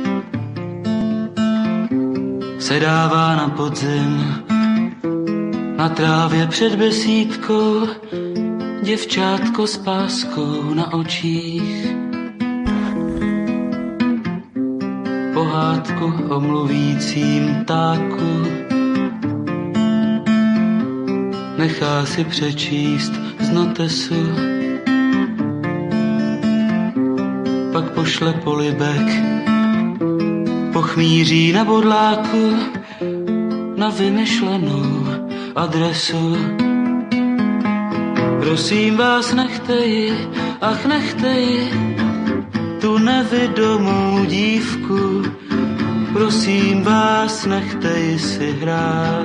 se dává na podzim na trávě před besídkou děvčátko s páskou na očích. Pohádku o mluvícím ptáku nechá si přečíst z notesu, pak pošle polibek pochmíří na bodláku na vymyšlenou adresu. Prosím vás, nechte ji, ach nechte ji, tu nevidomou dívku, prosím vás, nechte ji si hrát.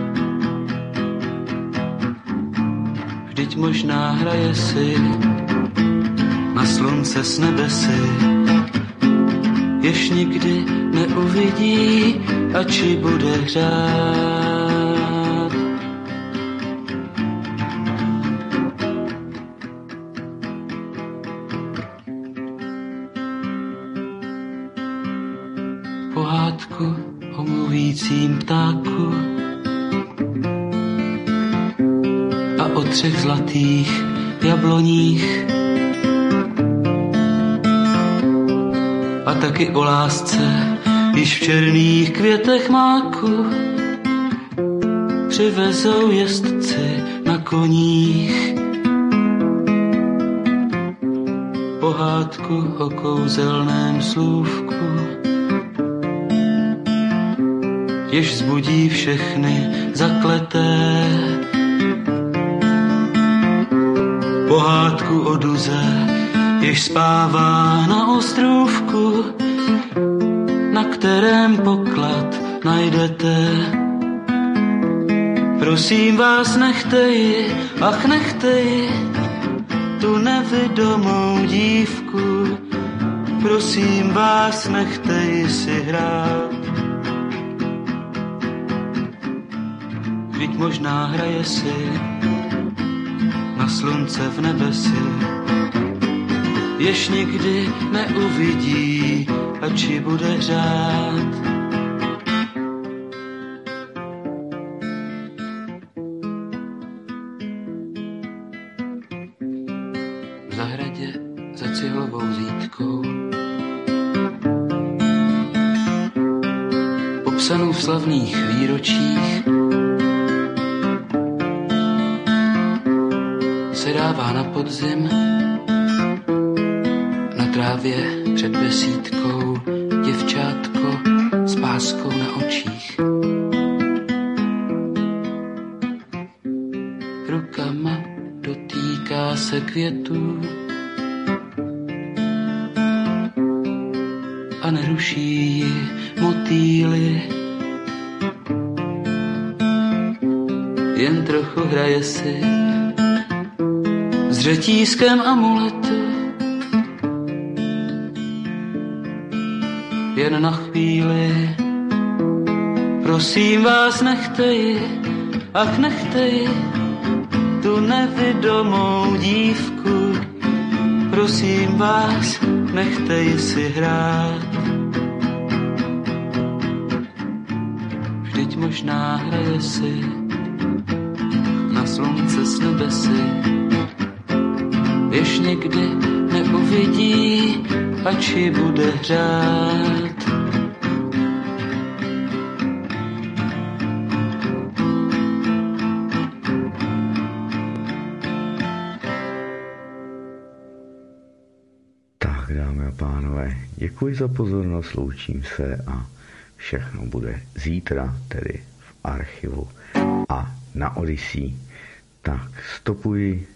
Vždyť možná hraje si na slunce s nebesy, jež nikdy neuvidí, ač ji bude hřát. Pohádku o mluvícím ptáku a o 3 zlatých jabloních a taky o lásce, již v černých květech máku přivezou jezdci na koních. Pohádku o kouzelném slůvku, jež vzbudí všechny zakleté. Pohádku o duze, jež spává na ostrůvku, na kterém poklad najdete. Prosím vás, nechte ji, ach nechte ji, tu nevidomou dívku, prosím vás, nechte ji si hrát. Vždyť možná hraje si na slunce v nebesi, jež nikdy neuvidí, ači bude řád. V zahradě za cihlovou zítkou, popsanou v slavných výročích, se dává na podzim na trávě před besídkou děvčátko s páskou na očích. Rukama dotýká se květů a neruší ji motýly. Jen trochu hraje si s řetízkem amuletu. Jen na chvíli, prosím vás, nechte ji, ach nechte ji, tu nevidomou dívku. Prosím vás, nechte ji si hrát. Vždyť možná hraje si na slunce s nebesy, jež někdy neuvidí, ači bude hřát. Tak, dámy a pánové, děkuji za pozornost, loučím se a všechno bude zítra, tedy v archivu a na Odyssey. Tak, stopuji